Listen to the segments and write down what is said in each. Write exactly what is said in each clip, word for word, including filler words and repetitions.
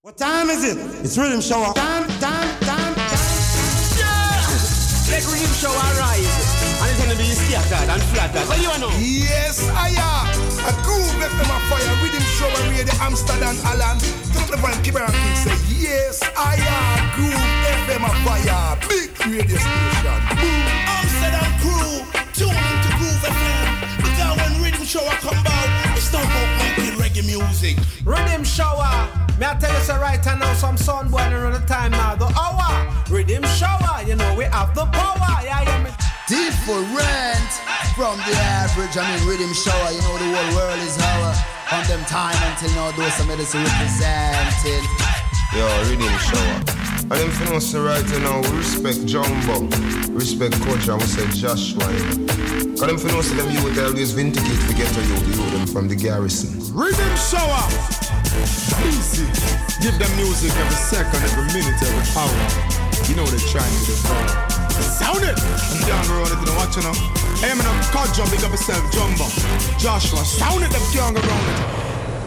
What time is it? It's Rhythm Shower. Time, time, time, time. Yeah! Let Rhythm Shower rise. And it's gonna be scattered and flattered. What do you know? Yes, I am. A groove left them a fire. Rhythm Shower radio Amsterdam Alan. Don't the van keep around and say, yes, I am. Groove F M a fire. Big radio station. Boom. Amsterdam crew, tune into Groove F M. Because when Rhythm Shower come out, it's not about making reggae music. Rhythm Shower. Me I tell you so right now, some sun boy around the time now, the hour. Rhythm Shower, you know we have the power. Yeah, yeah, me. Different from the average. I mean, Rhythm Shower, you know the whole world is our. From them time until now, those some medicine representing. Yo, Rhythm Shower. And them finna say right now, we respect Jumbo, respect Coach, and we say Joshua. Cause them finna say them youth always vindicate to get to you, you them from the garrison. Rhythm Shower! Easy. Give them music every second, every minute, every hour. You know they're trying to do it. Sound it! I'm down the road, if you don't watch it now. Hey, I'm in a car jump, big up yourself, Jumbo. Joshua, sound it, them young around it.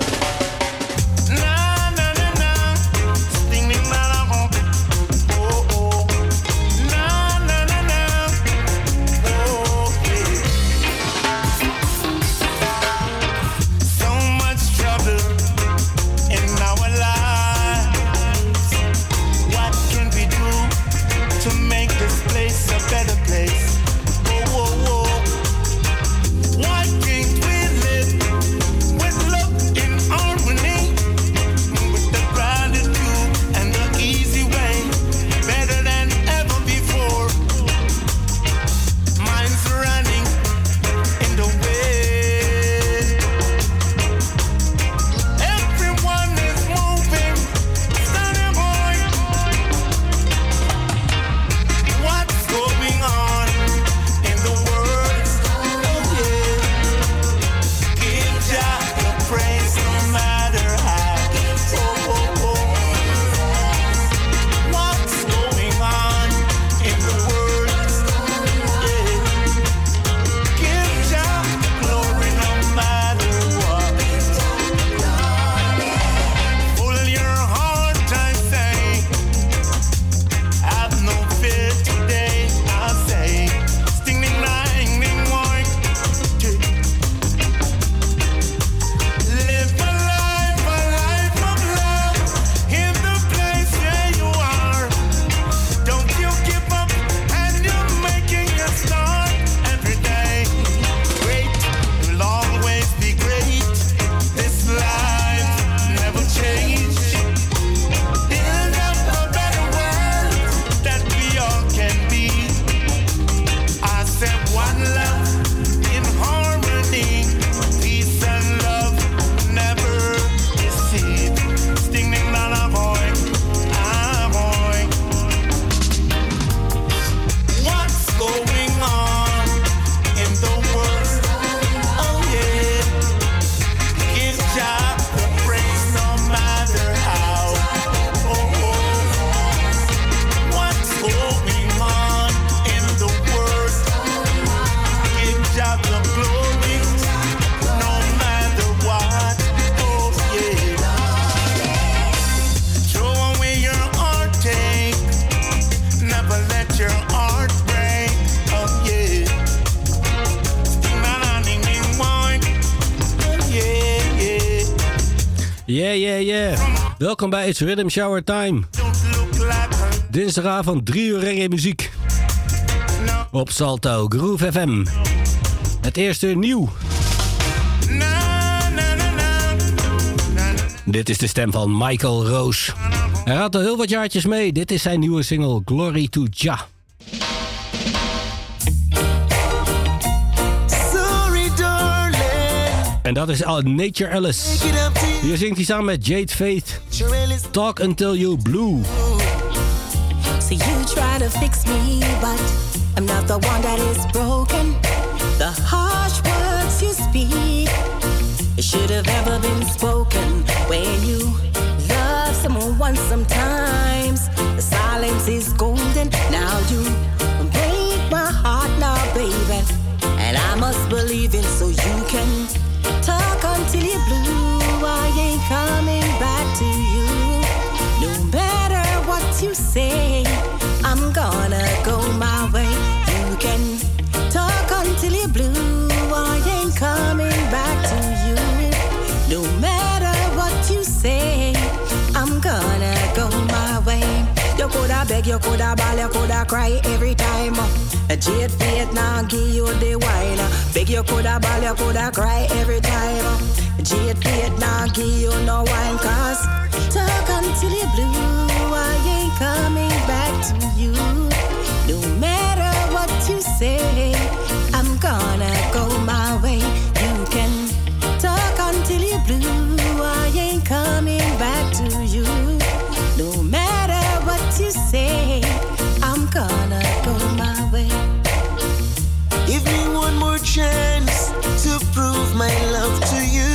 Yeah, yeah, yeah. Welkom bij It's Rhythm Shower Time. Dinsdagavond drie uur reggae muziek. Op Salto, Groove F M. Het eerste uur nieuw. Dit is de stem van Michael Roos. Hij had al heel wat jaartjes mee. Dit is zijn nieuwe single Glory to Jah. En dat is al Nature Alice. Hier zingt hij samen met Jade Faith. Talk Until You Blue. So you try to fix me, but I'm not the one that is broken. The harsh words you speak, it should have never been spoken. When you love someone sometimes, the silence is golden. Now you break my heart now, baby. And I must believe in so you can talk until you're blue. I ain't coming back to you. you say, I'm gonna go my way. You can talk until you're blue, I ain't coming back to you. No matter what you say, I'm gonna go my way. You coulda beg, you coulda bawl, you coulda cry every time. A jade fate now give you the wine. Beg, you coulda bawl, you coulda cry every time. A jade fate now give you no wine. Cause talk until you're blue, I ain't coming back to you. No matter what you say, I'm gonna go my way. You can talk until you're blue, I ain't coming back to you. No matter what you say, I'm gonna go my way. Give me one more chance to prove my love to you.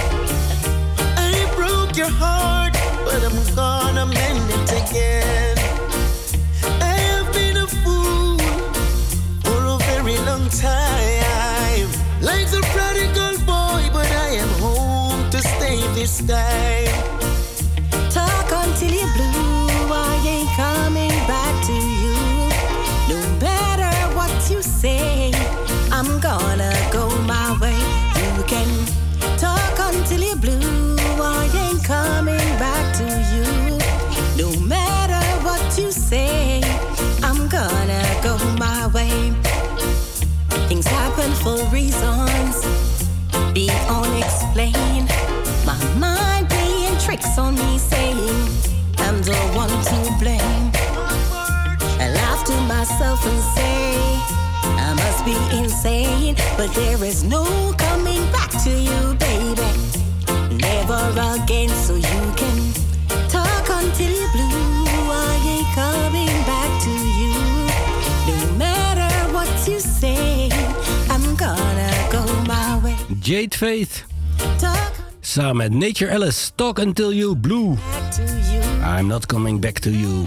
I broke your heart, but I'm gonna mend it again. I have been a fool for a very long time, like the prodigal boy, but I am home to stay this time. Talk until you're blue, I ain't coming back to you. No matter what you say, I'm gonna go my way. You can talk until you're blue, I ain't coming back to you. No matter what you say, I'm gonna go my way. Things happen for reasons beyond unexplained. My mind playing tricks on me, saying I'm the one to blame. I laugh to myself and say I must be insane, but there is no coming back to you, baby. Never again, so you can talk until you're blue. I ain't coming back to you. No matter what you say, I'm gonna go my way. Jade Faith. Talk Samen met Nature Alice, Talk Until You Blue. I'm not coming back to you.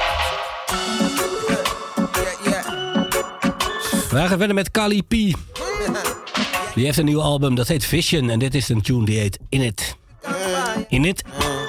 We gaan verder met Kali P. Die heeft een nieuw album, dat heet Vision. En dit is een tune die heet In It. In It.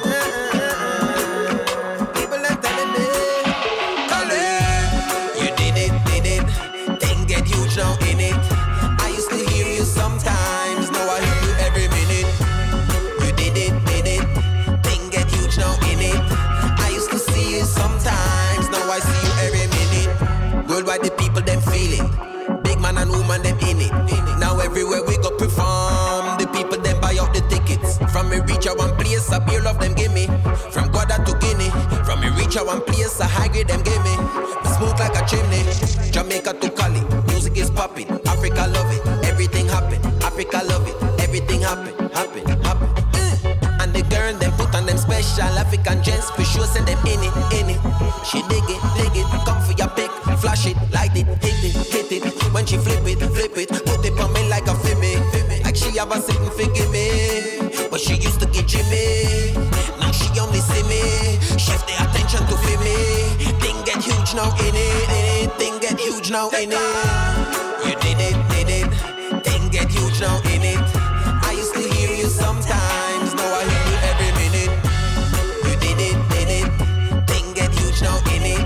Worldwide the people them feeling. Big man and woman them in it. Now everywhere we go perform, the people them buy out the tickets. From me reach out one place, a beer love them give me. From Guada to Guinea. From me reach out one place, a high grade them give me. We smoke like a chimney. Jamaica to Cali, music is popping. Africa love it, everything happen. Africa love it, everything happen, happen, happen. Mm. And the girl them put on them special African gents. We sure send them in it, in it. She dig it, dig it, come for your pick. Flash it, light it, hit it, hit it. When she flip it, flip it, put it on me like a fimmy. Like she have a sitting figure me, but she used to get Jimmy. Now she only see me, shift the attention to feel me. Thing get huge now in it, in it. Thing get huge now in it. You did it, did it. Thing get huge now in it. I used to hear you sometimes, now I hear you every minute. You did it, did it. Thing get huge now in it.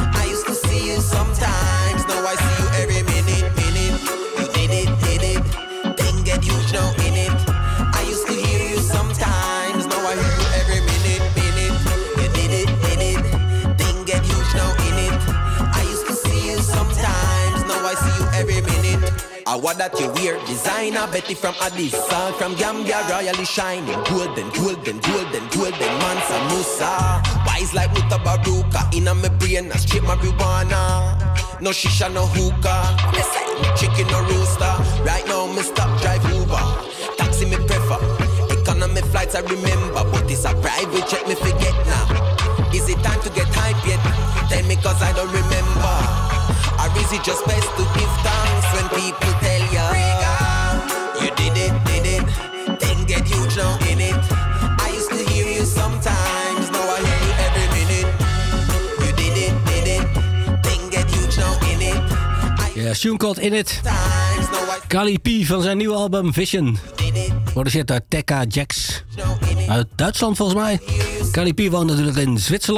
Sometimes, now I see you every minute, minute. You did it, did it. Thing get huge now in it. I used to hear you sometimes, now I hear you every minute, minute. You did it, did it. Thing get huge now in it. I used to see you sometimes, now I see you every minute. I want that you wear designer, Betty from Addis, Salt from Gambia, royally shining, golden, golden, golden, golden, Mansa Musa. Wise like Muta Baruka, inna me brain, a straight marijuana. No shisha, no hookah. Chicken or rooster. Right now me stop drive Uber. Taxi me prefer. Economy flights I remember, but it's a private jet me forget now. Is it time to get hype yet? Tell me cause I don't remember. Or is it just best to give thanks when people tell you you did it, did it. Thing get huge now in it. I used to hear you sometimes, now I hear you every minute. You did it, did it. Thing get huge now in it. Ja, tune called In It. Kali P van zijn nieuwe album Vision. Produceerd door Tekka Jax. Uit Duitsland volgens mij. Kali P woont natuurlijk in Zwitserland.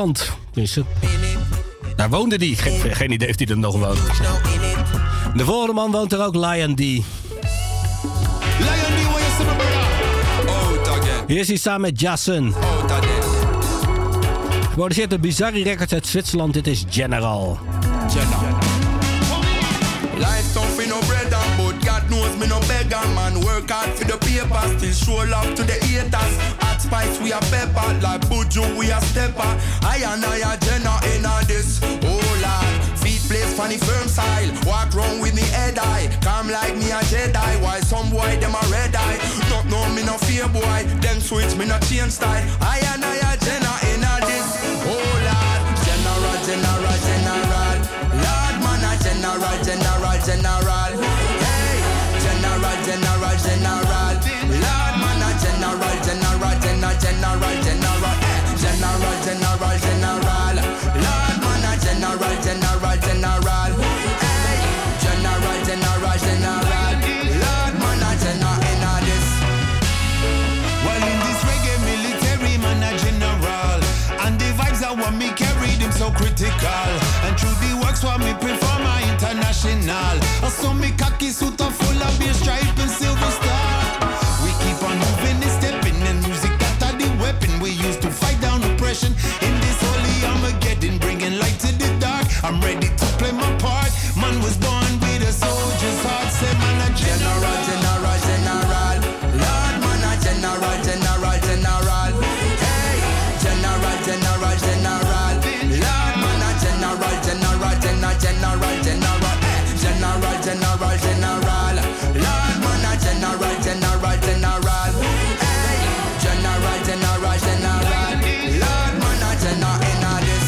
Tenminste, daar woonde die. Geen, geen idee of hij er nog woont. De volgende man woont er ook, Lion D. Lion D, what you say, my brother? Out again. Hier is hij samen met Jason. Out again. Geproduceerd door Bizarre Records uit Zwitserland. Dit is General. General. Life don't feel no bread and but God knows me no beggar man. Work hard for the paper, still show love to the haters. Hot spice we a pepper, like Buju we a stepper. I and I a Jenna in a this, oh lord. Feet place funny firm style, walk round with me head high. Come like me a Jedi, why some boy them a red eye. Not know me no fear boy, them switch me no change style. I and I a Jenna in a this, oh lord. General, general, general. Lord man a general, general, general. Hey, general, general, general. Lord man a general, general, general, general, general. Hey, general, general, general. Lord man a general, general, general. Hey, general, general, general. Lord man a general in a this. Well in this reggae military man a general. And the vibes I want me carry them so critical. And through the works what me prefer my international. I saw me khaki suit a full of beer stripe and silver star. We keep on moving and stepping and music that the weapon we use to fight down oppression. In this holy Armageddon bringing light to the dark. I'm ready to play my part. Man was born with a soldier's heart. Say man a general, general, general. Lord man a general, general, general. Hey, general, general, general. Lord man a general, general, general, general, general. Hey, general, general, general. Lord man a general, general, general. Hey, general, general, general. Lord man a general in a this.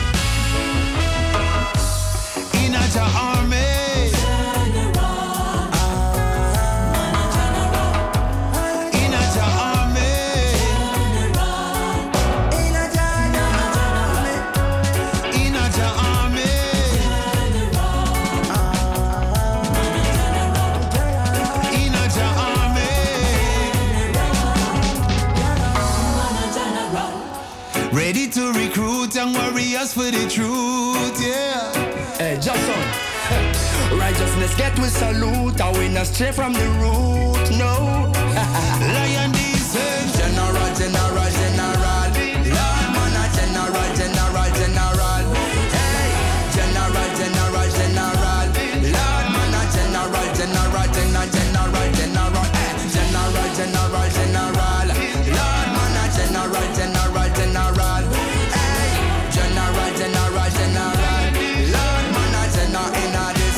in a ja army. Ready to recruit young warriors for the truth, yeah. Hey, Jason. Righteousness get with salute. I win us straight from the root, no. Lion D says general, general, general. Lord man a general, general, general. Hey, general, general, general. Lord man a general, general, general, general, general. Hey, general, general, general. Lord man a general, general, general. Hey, general, general, general. Lord man a general in a this.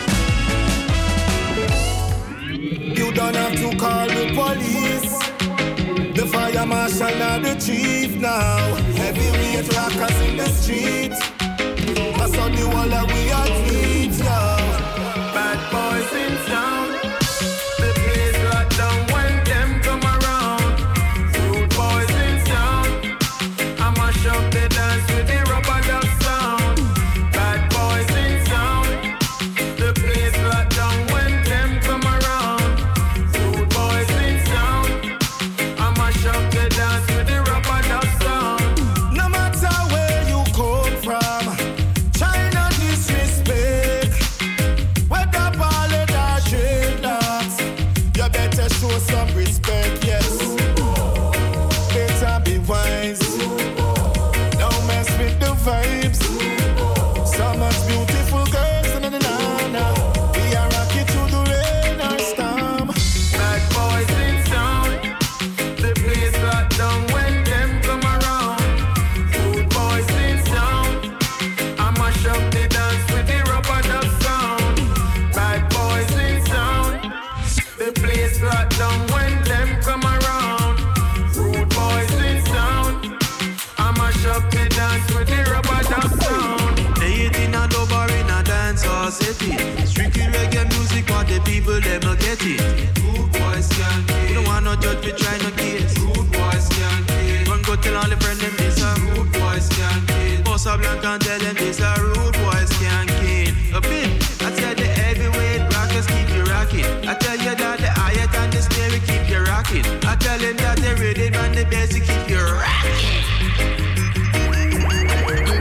You don't have to call the police. The fire marshal now the chief now. Heavyweight rockers in the street. I saw the wall that we are treat, yo. Bad boys in town. The place locked down when them come around. Rude boys in town. I mash up the dance with the rubber duck sound. Bad boys in town. The place locked down when them come around. Rude boys in town. I mash up the dance with the rubber duck sound. No matter where you come from, China disrespect. Whether ballad or dreadlocks, you better show some respect, yes. Better be wise. Don't mess with the vibes. So much beautiful girls, na na na na. We are rocky to the rain or storm. Bad boys in town. The place locked down when them come around. Rude boys in town. I mash up the dance with the rubber duck sound. Bad boys in town. The place locked down when them come around. Rude boys in town. I mash up the dance with the rubber duck sound. They eat in a dub or in a dance or city. Strictly reggae music, what the people them a get it. Rude boys can't kill. We don't want no judge, we try no case. Rude boys can't kill. Run go tell all the friend them this a rude boys can't kill. Boss a blank and tell them this a rude boys can't kill. A bit, I tell the heavyweight rockers keep you rocking. I tell you that the hi-hat and the snare we keep you rocking. I tell them that the rhythm and the bass we keep you rocking.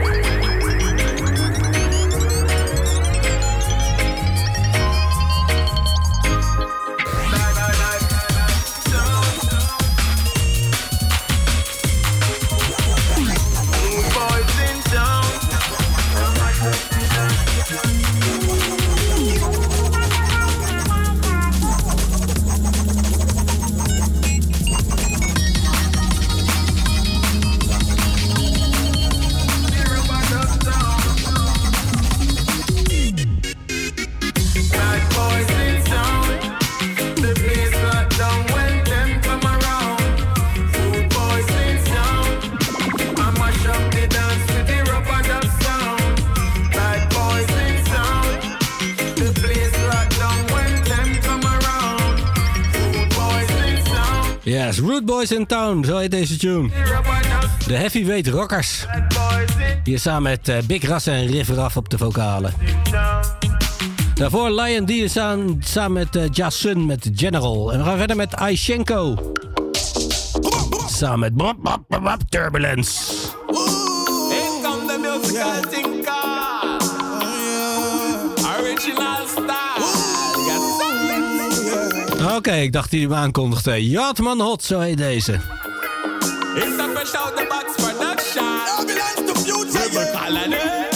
Yes, Rude Boys in Town, zo heet deze tune. De Heavyweight Rockers. Hier samen met uh, Big Ras en Riff Raff op de vocalen. Daarvoor Lion D samen, samen met uh, Jasun met General. En we gaan verder met Aishenko. Samen met Bop, Bop, Bop, Bop, Turbulence. In come the musical thinker. Original style. Oké, okay, ik dacht die hem aankondigde. Yatman Hot, zo heet deze. It's a fresh out the box production. Ambulance to future. We're calling it.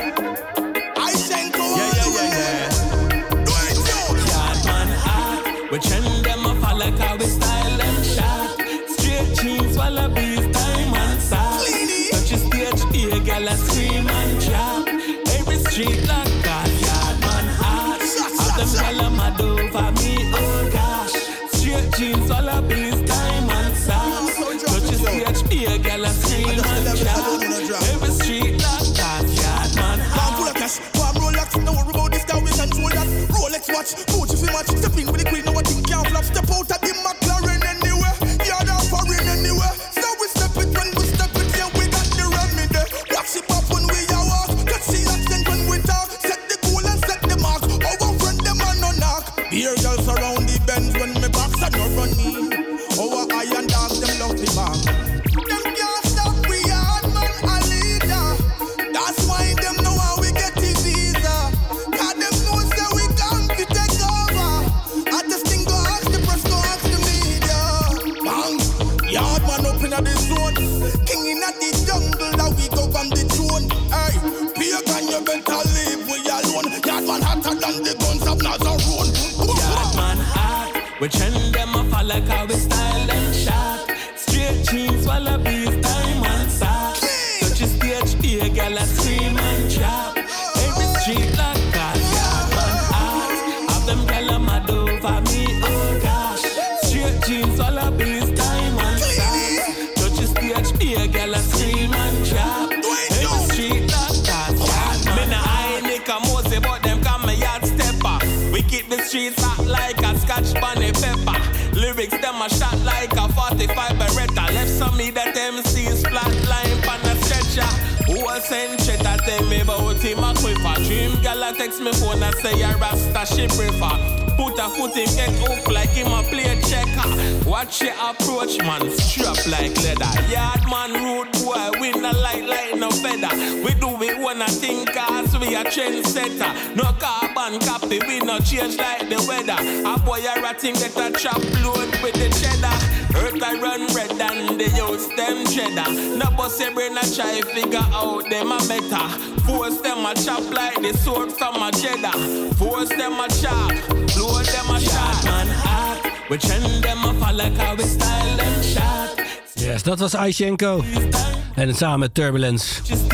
Aishenko. Yeah, yeah, yeah, yeah. Do it, yo. Yatman Hot. We trend them up all like how we style and shot. Straight jeans, wallabies, diamond socks. Touch your stage, here, girl, I scream and drop. Every street like that, Yatman Hot. Have them girl, I'm mad over me, oh gosh. Straight jeans, wallabies, diamond socks. Touch your stage, here, girl, I scream and drop. Every street like that, Yatman Hot. Full of cash, warm Rolex, no worry about this guy, we control that. Rolex watch, Gucci fi match, step in with the queen, no one think can't flop. Step out of the McLaren anywhere, yard or foreign anywhere. So we step it when we step it, yeah, we got the remedy. Watch it pop when we are walk, catch the accent when we talk. Set the goal and set the mark, our friend them are no knock. Beer girls around the bends when me box and no running. Our iron dogs, them love the back. Them can't stop, we hard man a leader. That's why them know how we get the visa. Cause them know say we come to take over. I just think go ask the press, go ask the media. Bang, yard man up in the zone. King in the jungle, that we go from the throne. Hey, pagan, you better leave we alone. Yard man hotter than the guns of Nazarone. Yard man hot. We trend them up all like how we style and shot. Straight jeans, wallabies, diamond socks. Touch your stage, here, girl, I scream and drop. Every street like that, yard man hot. Have them girl, I'm mad over me, oh gosh. Straight jeans, wallabies, diamond socks. Touch your stage, here, girl, I scream and drop. Every street like that, yard man. Me nah I Nick a Mosey, but them come my yard stepper. We keep the streets hot like a Scotch bunny pepper. Lyrics them a shot like a forty-five Beretta. Left some me that M C's flat line pan a stretcher. Who a send shit that tell me about him a quiver. Dream girl a text me phone and say a rasta she prefer. Put a foot in get up like him a play checker. Watch your approach man, strap like leather. Yard man rude boy, we not like like no feather. We do it one a thing cause we a trendsetter. No carbon copy, we no change like the weather. A boy a ratting get a chop load with the cheddar. Earth I run red and the use them cheddar. No boss a brain a try figure out them a meta. Force them a chop like the sword from a cheddar. Force them a chop, blow them a shot. Man hot, we trend them up all like how we style them shot. Yes, dat was Aishenko. En het samen met Turbulence.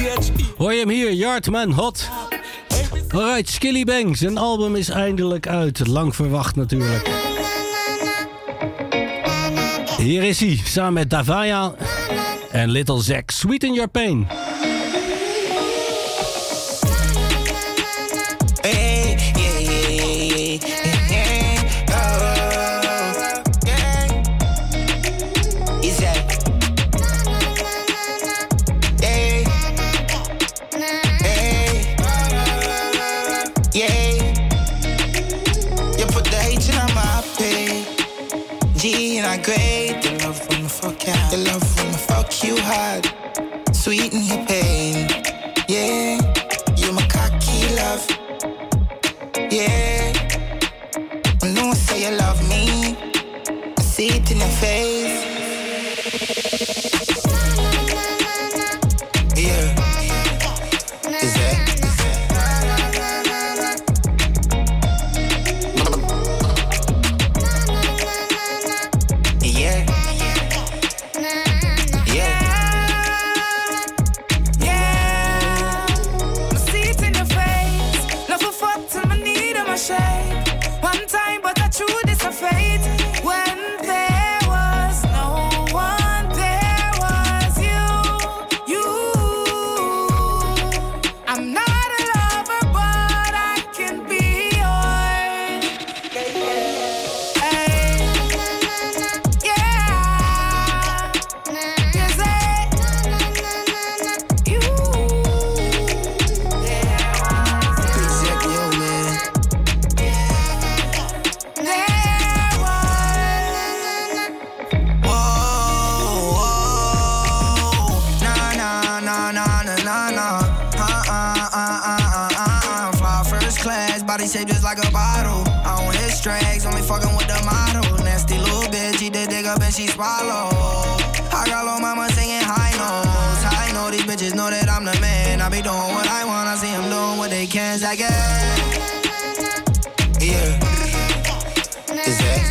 Hoor je hem hier, Yardman Hot. Alright, Skilly Bang. Zijn album is eindelijk uit. Lang verwacht natuurlijk. Hier is hij, samen met Davaya en Little Zack. Sweeten Your Pain. Hey, yeah, yeah, yeah, yeah. Oh, yeah. Is that? Hey, hey, yeah. You put the H in my pay, G in a grade. The love when I fuck you, the love when I fuck you hard. Sweeten your pain, yeah. You my cocky love. Yeah, I know say you love me. I see it in your face. Yeah, is that? Yeah, yeah, yeah. body shaped just like a bottle. I don't hit strings, only fucking with the model. Nasty little bitch, eat the dick up and she swallow. I got little mama singing high notes. I know these bitches know that I'm the man. I be doing what I want, I see them doing what they can. I get yeah. Is that?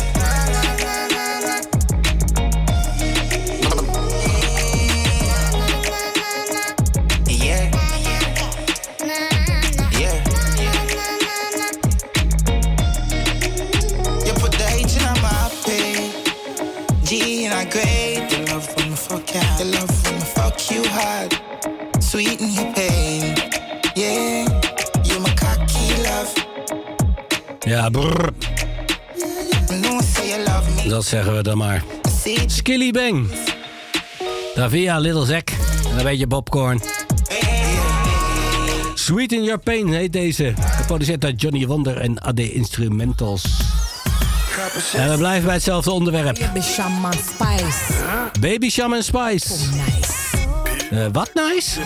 Great, the love from the fuck out, the love from the fuck you hard, sweeten your pain, yeah, you my cocky love. Ja, brrr. No say you love me. Dat zeggen we dan maar. Skilly Bang. Davia, Little Zack. En een beetje popcorn. Sweet in Your Pain heet deze. Geproduceerd door Johnny Wonder en A D Instrumentals. En we blijven bij hetzelfde onderwerp. Baby Shaman Spice. Baby Shaman Spice. Oh, nice. Uh, wat nice?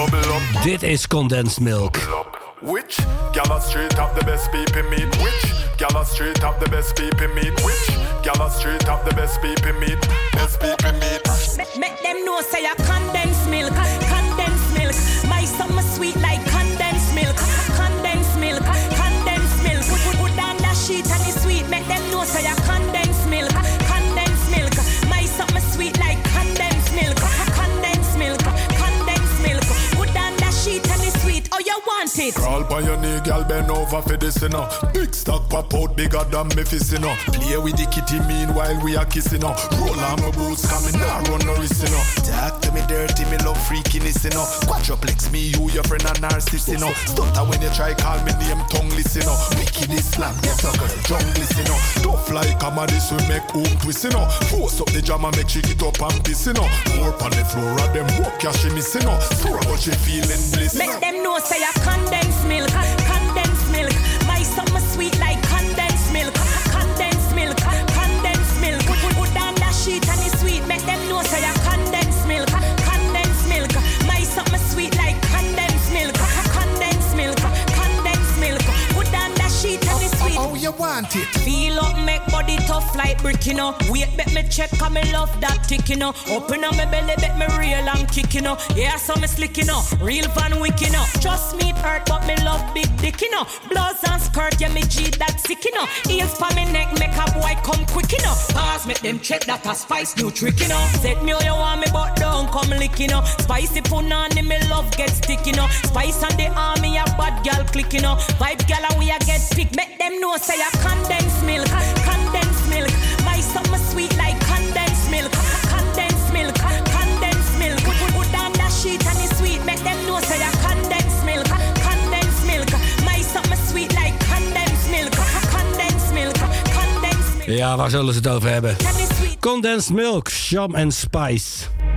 Dit is Condensed Milk. Which gala straight up the best people meet? Which gala straight up the best people meet? Which gala straight up the best people meet? Best people meet. Make them know say I condensed milk, condensed milk. My summer sweet like condensed milk, condensed milk, condensed milk. Put, put, put down that sheet and it's sweet. Make them know say I condensed milk, condensed milk. My summer sweet like condensed milk, condensed milk, condensed milk. Put down that sheet and it's sweet. Oh, you want it? Crawl by your knee, girl, bend over for this, you know. Big stock pop out bigger than me fist, you know. Play with the kitty meanwhile we are kissing, you know. Roll on my boots, coming now, run no risk, you know. Talk to me dirty, me love freakiness, you know. Quadruplex, me, you, your friend, and narcissist, you know. Stutter when you try call me name, tongueless, you know. Wickedest slam, get a girl, jungless, you know. Tough like comedies, we make home twist, you know. Force up the jam and make she get up and piss, you know. More on the floor, and them walk, yeah, she miss, you know. Sure, but she feeling bliss, make them know say I condensed milk, condensed milk. My summer sweet like condensed milk, condensed milk, condensed milk. Put, put, put down that sheet and it's sweet. Make them know say I condensed milk, condensed milk. My summer sweet like condensed milk, condensed milk, condensed milk. Put down that sheet and it's sweet. Oh, oh, you want it? Feel up, make body tough like brick, you know. Wait, bet me check, cause me love that tick, you know. Open up my belly, bet me real and kick, you know. Yeah, so me slick, you know. Real Van Wick, you know. Trust me, it hurt, but me love big dick, you know. Blouse and skirt, yeah, me G that sick, you know. Heels for me neck, make a boy come quick, you know. Pause, make them check that a spice new trick, you know. Set me how you want me, but don't come lick, you know. Spicy punani, me love get stick, you know. Spice on the army, a bad girl click, you know. Vibe girl, and we a get pick. Make them know, say a condensed milk, condensed milk. My summer sweet like condensed milk, condensed milk, condensed milk. Put, put, put down that sheet and it's sweet. Make them know, say a condensed milk, condensed milk. My summer sweet like condensed milk, condensed milk, condensed milk. Ja, waar zullen ze het over hebben? Condensed Milk, Sham and Spice.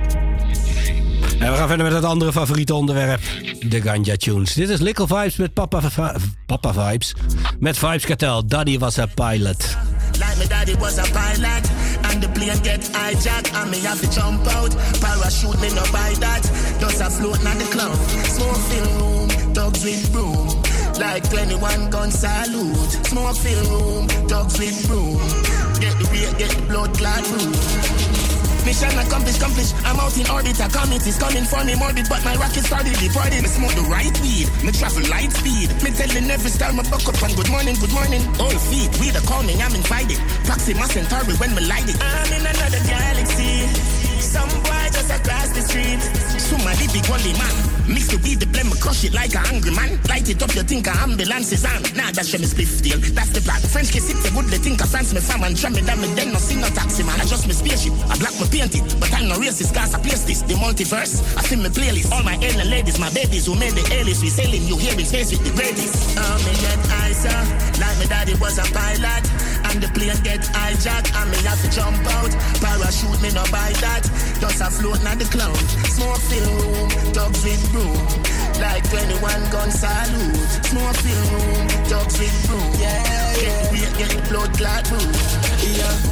En we gaan verder met het andere favoriete onderwerp. De Ganja Tunes. Dit is Lickle Vibes met Papa, Papa Vibes. Met Vibes Cartel. Daddy was a pilot. Like my daddy was a pilot, and the plane get hijacked, and me have to jump out. Parachute me no buy that, just a float on the cloud. Smoke fill room, dogs with broom, like twenty-one gun salute. Smoke fill room, dogs with broom, get the beer, get the blood clot room. Mission accomplished, accomplished. I'm out in orbit. A comet is coming for me morbid, but my rocket started departed. Me smoke the right weed, me travel light speed. Me telling every star me buck up and good morning, good morning. All feet, we the calming, I'm invited. Proxima Centauri when me light it. I'm in another galaxy. Some boy just across the street. Somebody big only man. Mix the weed, the blend, me crush it like a hungry man. Light it up, you think a ambulance is on. Nah, that's me spliff deal. That's the plan. French kiss it, they good, they think a France me fam and try me down me then no sing no taxi man. I just me spaceship, I black me paint it. But I'm no racist, cause I place this. The multiverse, I sing me playlist. All my alien ladies, my babies who made the alias. We sailing, you hear in space with the greatest. Oh, me get icer, like my daddy was a pilot. And the plane get hijacked, and me have to jump out. Parachute me no buy that, just a float on the cloud. Smoke fill room, dogs with broom, like twenty-one gun salute. Smoke fill room, dogs with broom, yeah, yeah. Get the beer, get the blood clot room, yeah.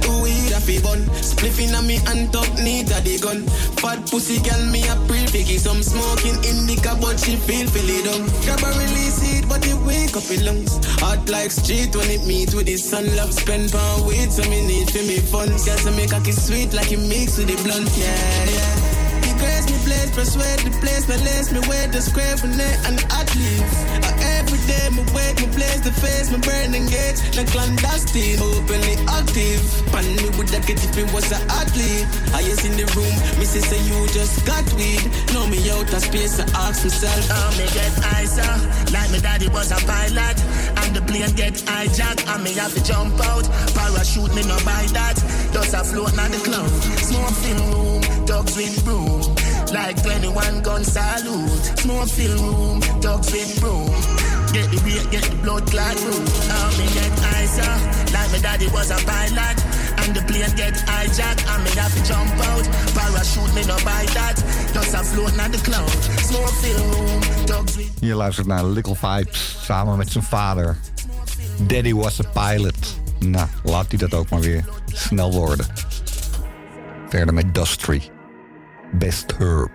weed a fi bun. Spliffing on me and top neat a the gun. Fat pussy girl me a pre figgy. Some smoking indica but she feel feel it down. Grab a release it but it wake up in lungs. Hot like street when it meet with the sun. Love spend pound weed so me need for me fun. Girl so make a kiss sweet like it mix with the blunt. Yeah, yeah. The grace me place, persuade the place. Me lace me wear the square for net and athletes. Uh, every day me wake me place the face. Me burn engage, the clandestine. Openly active. Pan me with that kid if it was an athlete. I is in the room, me say say you just got weed. Know me out of space, I ask myself. Oh, me get eyesore, like my daddy was a pilot. And the plane get hijacked, and me have to jump out. Parachute me no buy that. Does a float on the cloud. Smoke fill room, dogs with broom. Like twenty-one gun salute. Smoke fill room, dogs with broom. Get the weight, get the blood clot room. Oh, me get eyesore, like my daddy was a pilot. And the plane get hijacked, and me have to jump out. Parachute me no buy that. Does a float on the cloud. Smoke fill room, dogs with. Je luistert naar Little Vibes samen met zijn vader. Daddy was a pilot. Nou, laat hij dat ook maar weer snel worden. Verder met Dustry. Best Herb.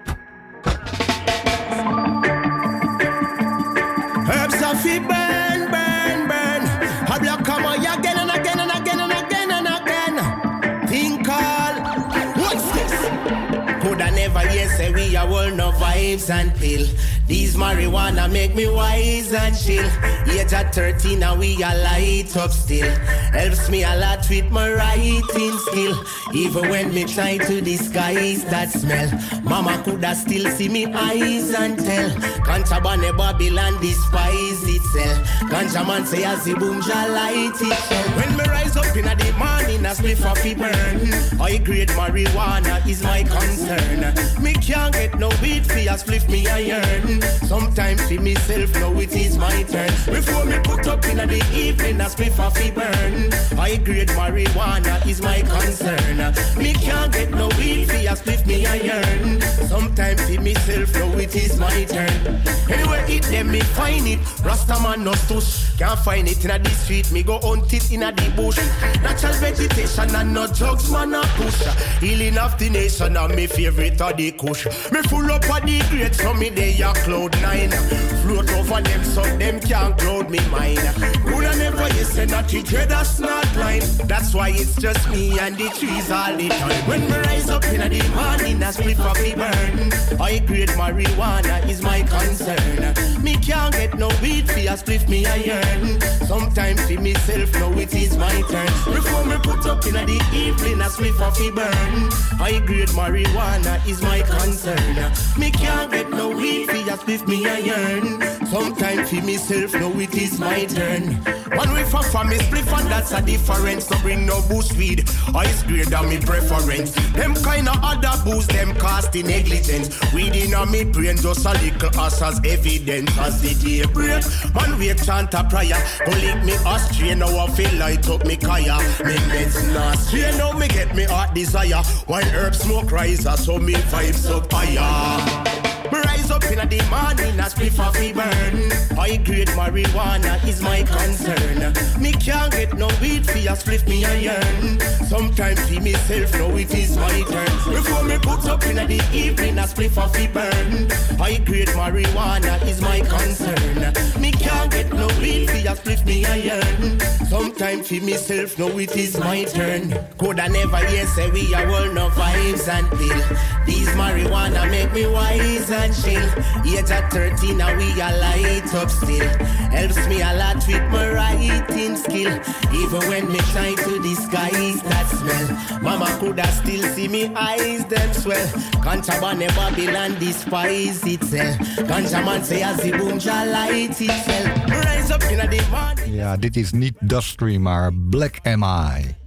Herbs of it burn, burn, burn. A black come on again and again and again and again and again. Think all. What's this? Could I never hear say we are all no vibes and pill. These marijuana make me wise and chill. Age at thirteen and we are light up still. Helps me a lot with my writing skill. Even when me try to disguise that smell, mama coulda still see me eyes and tell. Contraband Babylon despise itself. Ganja man say as the boom shall light it. When me rise up in the morning a spliff off the burn. High grade marijuana is my concern. Me can't get no weed for a spliff me iron. Sometimes for myself now it is my turn. Before me put up in the evening a spliff off the burn. High grade marijuana is my concern. Me can't get no weed for a spliff me iron. Sometimes for myself now it is my turn. Anywhere it them me find it. Rasta man no stush. Can't find it in the street. Me go hunt it in the bush. Natural vegetation and no drugs man a push. Healing of the nation and me favorite of the kush. Me full up of the grades so me they a cloud nine. Float over them so them can't cloud me mine. Coulda never you say that you dread that's not line. That's why it's just me and the trees all the time. When me rise up in the morning a split for me burn. High grade marijuana is my concern. Me can't get no weed for a split me iron. Sometimes for myself now it is my turn. Before me put up in the evening a split for me burn. High grade marijuana is my concern. Me can't get no weed for a split me iron. Sometimes for myself now it is my turn. One way for for me split and that's a difference. No bring no bush weed. Ice grade than me preference. Them kind of other booze them cast in negligence. Weed in a me brain just a little us as evidence. As the day break, man we chant a prayer. Go lick me astray now I feel light up me kaya. Me meds not stray now me get me heart desire. While herb smoke riser so me vibes up higher. Me rise up in the morning a spliff off me burn. High grade marijuana is my concern. Me can't get no weed for a spliff me iron. Sometimes for myself now it is my turn. Before me put up in the evening a spliff off me burn. High grade marijuana is my concern. Me can't get no weed for a spliff me iron. Sometimes for myself now it is my turn. Coulda never hear say we are all no vibes and pill. These marijuana make me wise and chill. Age at thirteen and we are light up still. Helps me a lot with my writing skill. Even when me try to disguise that smell, mama coulda still see me eyes them swell. Contraband Babylon despise itself. Ganja man say as the boomja light itself. Rise up in the morning. Ja, dit is niet Dustry, maar Black M I.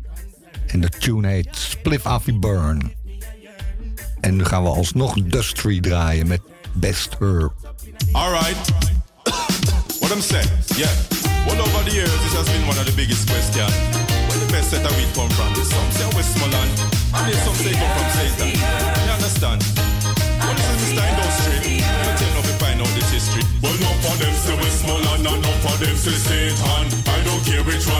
En de tune heet Spliff Affy Burn. En nu gaan we alsnog Dustry draaien met Best Herb. Alright. What I'm saying, yeah. Well, over the years, this has been one of the biggest questions. Where the best set of weed come from? There's some say Westmoreland, and there's some say come from Satan. You understand? Well, this is Mister Industry. Let me tell you if you find out this history. Well, no for them say Westmoreland, and no for them say Satan. I don't care which one is from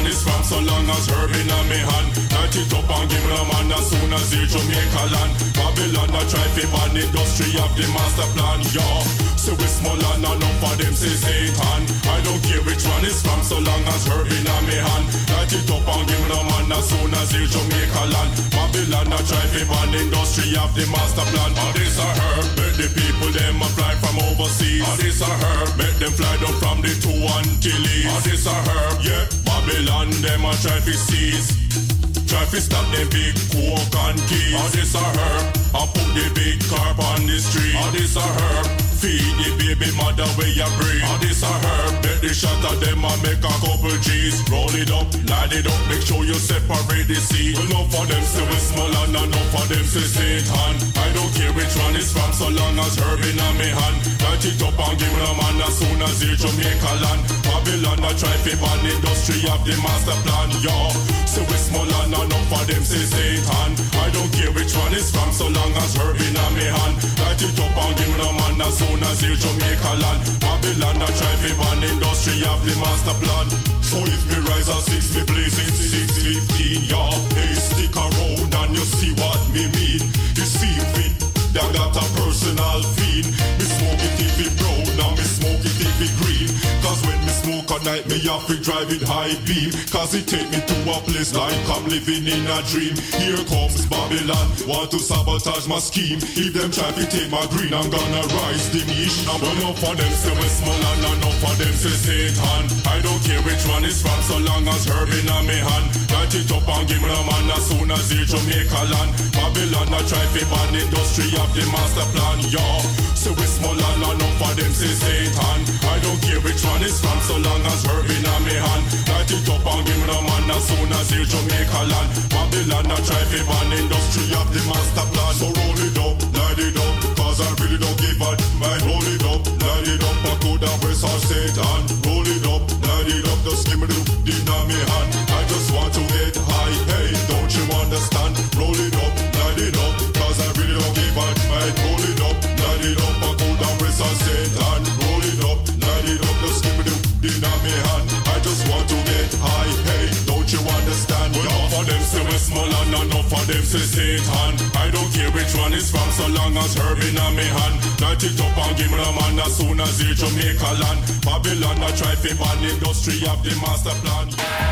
from so long as herb in a me hand. Light it up and give them man as soon as they Jamaica land. Babylon a try fi ban industry of the master plan, yo. So we small and enough of them say Satan. I don't care which one is from so long as herb in a me hand. Light it up and give them man as soon as they Jamaica land. Babylon a try fi ban industry of the master plan. Oh, this a herb, make the people them a fly from overseas. Oh, this a herb, make them fly down from the two Antilles. Oh, this a herb, yeah. Babylon them a try fi seize. Try to stop them big coke and keys. Oh, this a herb. I put the big carp on the street. Oh, this a herb. Feed the baby mother where you breathe. Oh, this a herb. Bet the shot of them and make a couple G's. Roll it up, light it up, make sure you separate the seed. Enough for them say we small and enough for them say Satan. I don't care which one is from so long as herb in a me hand. Light it up and give them man as soon as they Jamaica land. Babylon a try to ban industry of the master plan, yo. So we small and enough for them say Satan. I don't care which one is from so long as herb in a me hand. Light it up and give them man as soon as they Jamaica land. Babylon a try to ban industry of the master plan. So if me rise at six, me blaze it six fifteen, yeah. Hey, stick around and you see what me mean. You see fit, that got a personal feed. Me smoke it if it brown, now me smoke it if it green. Cause when me smoke at night, me have to drive it high beam. Cause it take me to a place like I'm living in a dream. Here comes Babylon, want to sabotage my scheme. If them try to take my green, I'm gonna rise the niche. Now enough for them say we small and enough for them say Satan. I don't care which one is from so long as herb in a me hand. Light it up and give me a man as soon as they Jamaica land. Babylon a try to ban industry of the master plan, yo. So we small and enough for them say Satan. I don't care which one is from so long as herb in a me hand. Light it up and give me a man as soon as they Jamaica land. Babylon a try to ban industry of the master plan. So roll it up, light it up, cause I really don't give a man. Roll it up, light it up, I could have press on Satan. Roll it up, light it up, just give me the in a me hand. I just want to get high, hey, don't you understand? Roll it up, light it up, cause I really don't give a man. Roll it up, light it up, I could have press on Satan. Roll it up, light it up, just give me the in a me hand. I just want to get high, hey, don't you understand? Enough for them say we small and enough for them say Satan. I don't care which one is from so long as herb in a me hand. Light it up and give me a man as soon as they Jamaica land. Babylon a try to ban industry of the master plan.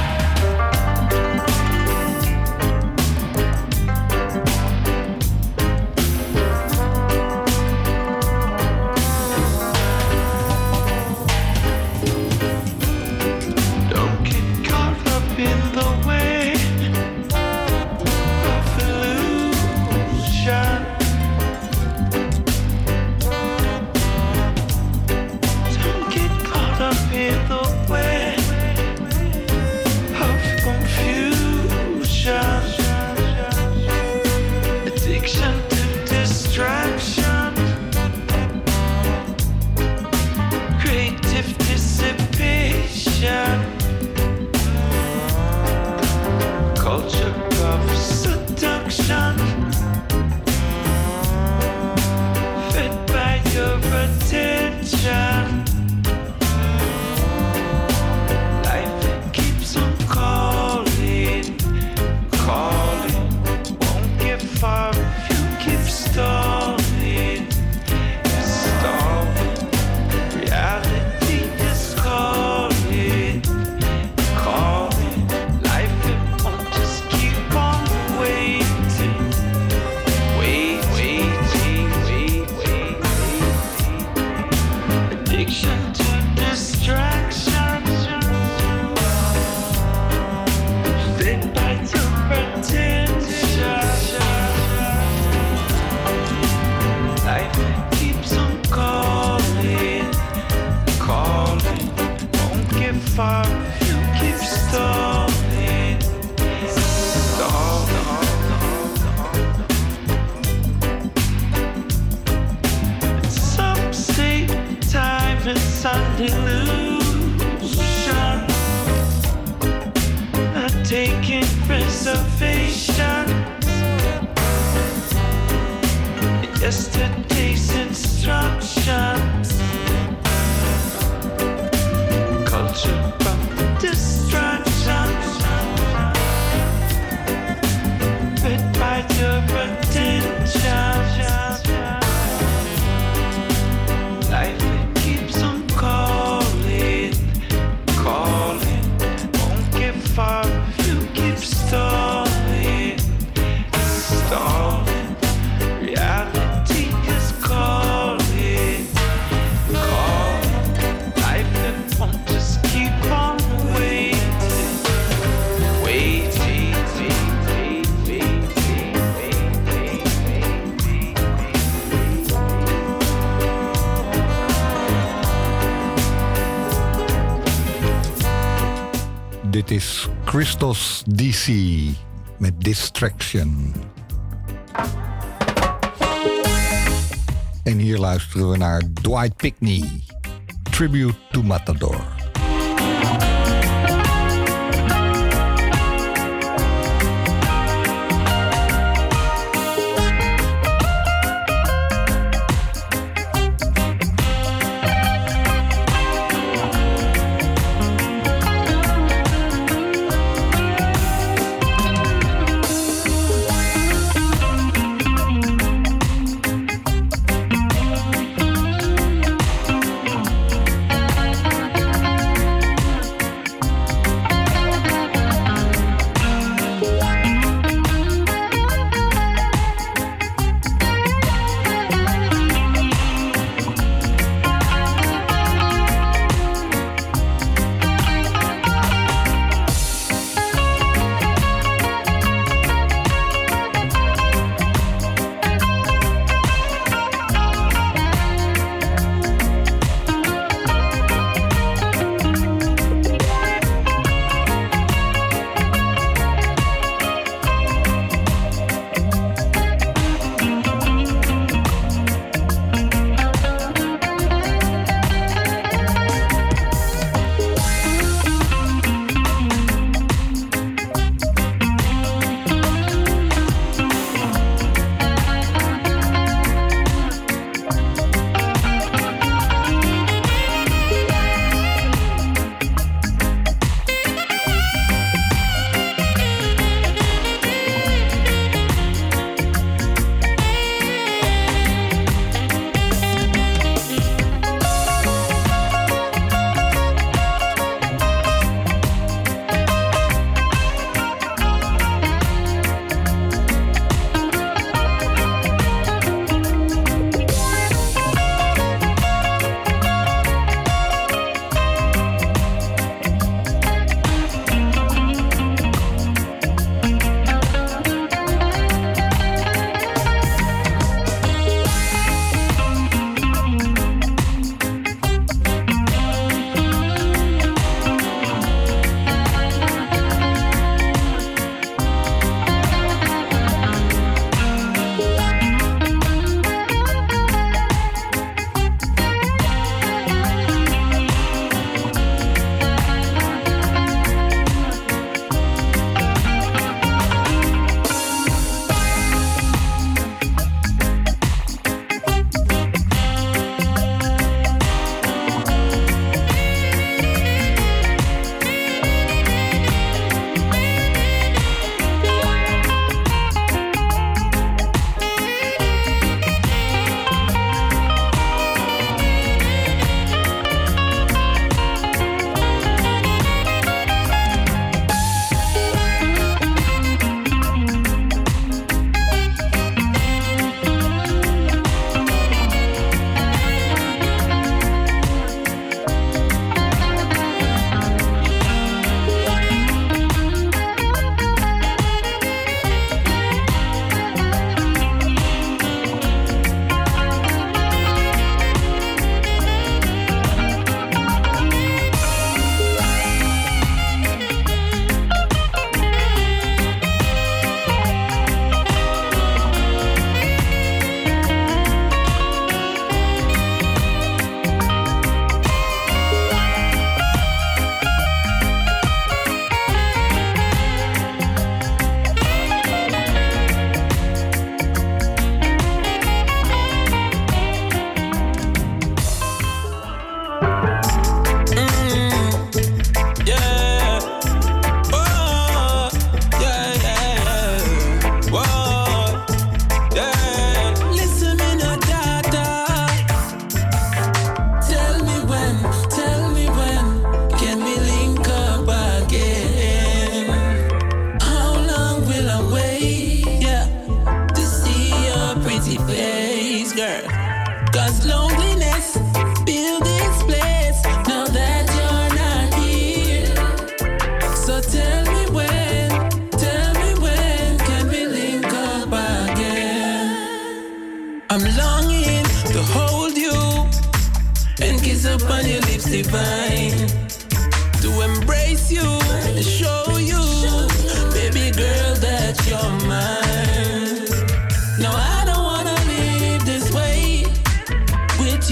Yesterday's instructions, culture from distractions. Dit is Christos D C met Distraction. En hier luisteren we naar Dwight Pickney, Tribute to Matador.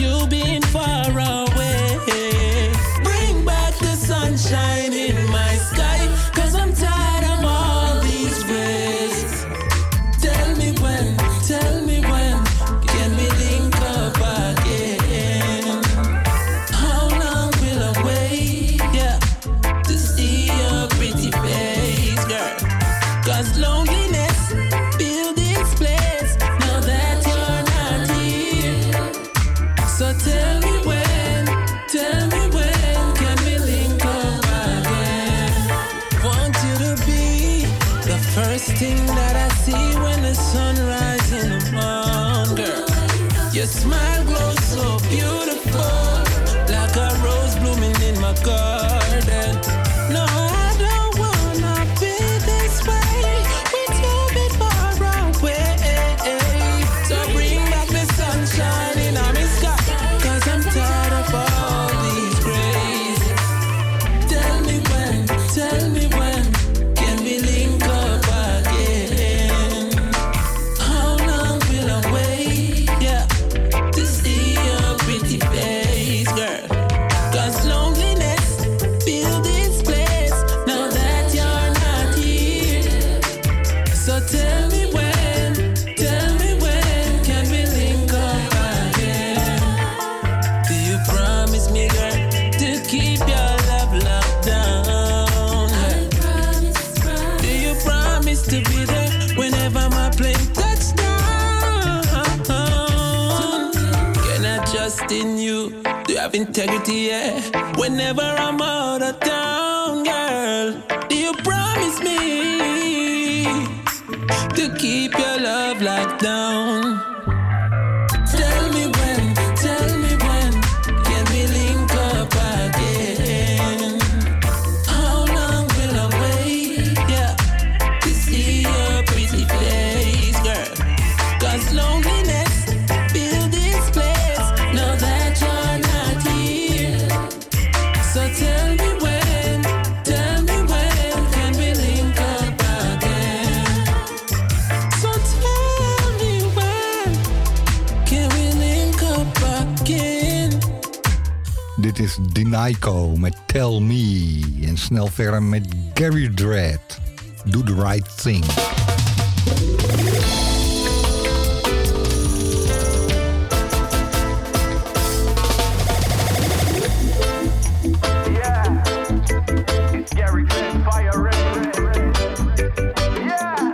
you being far away. Bring back the sunshine in my sky, cause I'm tired of all these rays. Tell me when, tell me when, can we link up again? How long will I wait, yeah, to see your pretty face, girl? Cause loneliness fill this place, now that you're not here. So tell me when, tell me when, can we link up again? Want you to be the first thing that I see when the sun rises in the morning, girl. Your smile glows so beautiful, like a rose blooming in my garden. No, I don't wanna be this way, with you bit far away. So bring back the sunshine in my sky, cause I'm tired of all these grays. Tell me when, tell me when, can we link up again? How long will I wait, yeah, to see your pretty face, girl? Cause loneliness fill this place, now that you're not here. So tell me when, tell me when, can we link up again? Do you promise me, girl, to keep your love locked down? Do you promise to be there whenever my plane touches down? Can I trust in you? Do you have integrity, yeah? Whenever I'm out of town, girl, do you promise me to keep your love locked down? Tell me when, tell me when, can we link up again? How long will I wait, yeah, to see your pretty face, girl? Cause loneliness fill this place, now that you're not here. So tell me when, tell me when, can we link up again? So tell me when, can we link up again? Dit is Dinaiko met Tell Me. En snel verder met Gary Dredd. Do the right thing. Gary Dredd, fire red, red, red. Yeah.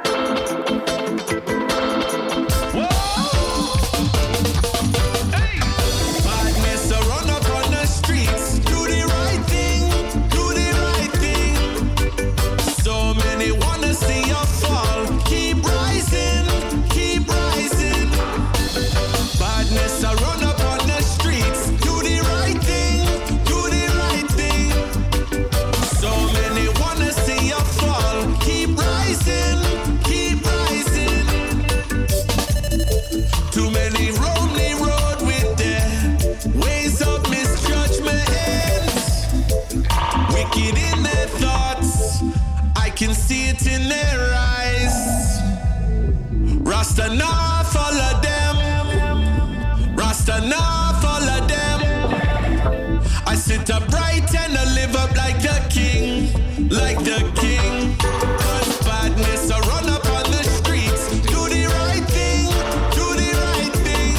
Badness a run up on the streets. Do the right thing, do the right thing. So many wanna see you fall. Keep rising, keep rising. Badness a run up on the streets. Do the right thing, do the right thing. So many wanna see you fall. Keep rising, keep rising. Too many roam the road with their ways of misjudgment. Wicked in their thoughts, I can see it in their eyes. Rasta nah follow them, Rasta nah follow them. I sit upright and I live up like the king, like the king. Cause badness I run up on the streets. Do the right thing, do the right thing.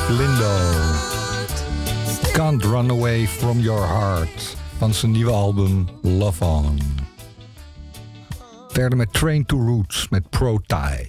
Lindo. Can't Run Away From Your Heart van zijn nieuwe album Love On. Verder met Train to Roots met Pro-Tie.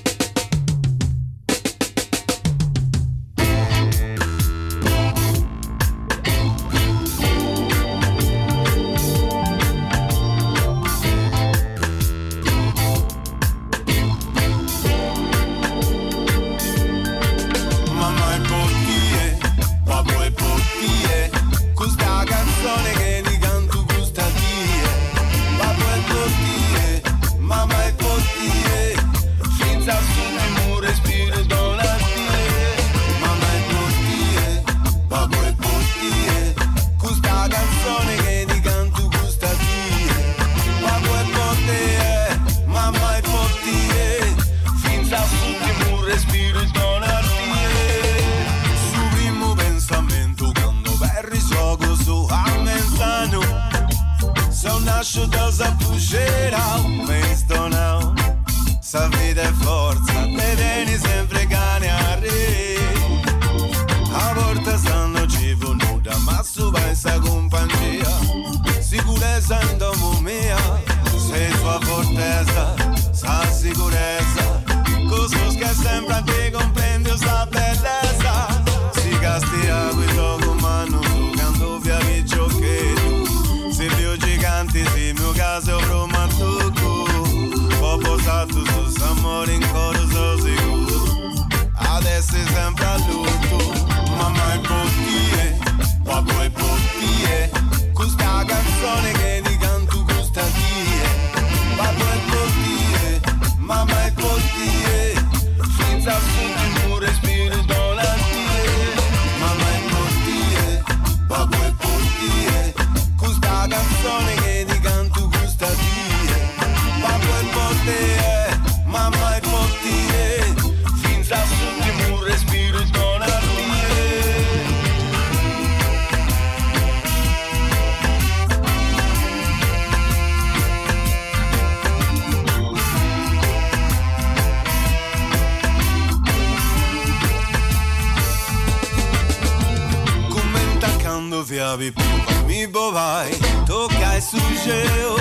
Mi bovai, tocai sujeo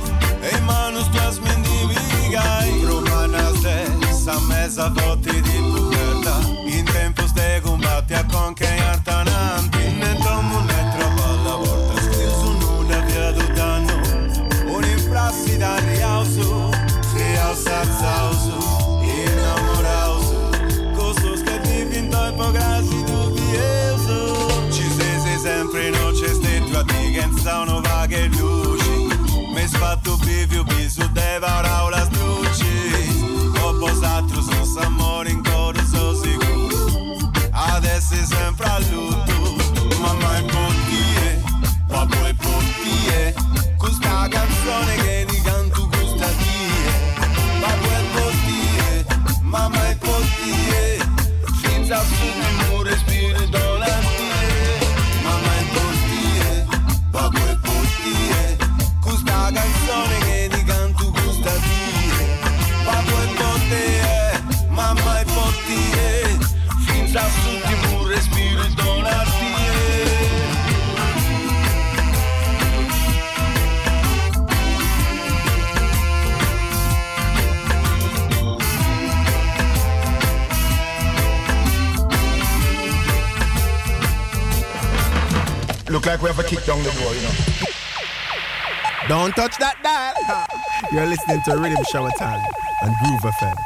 e manos tuas me indivigai. Romanas dessa mesa voti di pubertà. In tempos de combatti a conquear tananti. Ne tomo ne trova la volta. Scriso nuda via do danno. Un'imprassi da rialzo. Si alza zauso. Innamorauso. Costos che ti vinto e pograssi dubbioso. Ci sei sempre in c'è stretto a ti che sono vaghe luci. Mi sfatto bivio bisu devarao la struci. Ho posato su s'amore in coro so sicuro. Adesso è sempre a lutto. Mamma è pottie, papà è pottie. Questa canzone che ti canto questa die. Papà è pottie, mamma è pottie. Senza su di mu respiro da la canzone che ti canto questa die. Papà e pottie, mamma e pottie. Finza su di mu respiro donartie. Look like we have a kick down the door, you know. Don't touch that dial. You're listening to Rhythm Shower Time on Groove F M.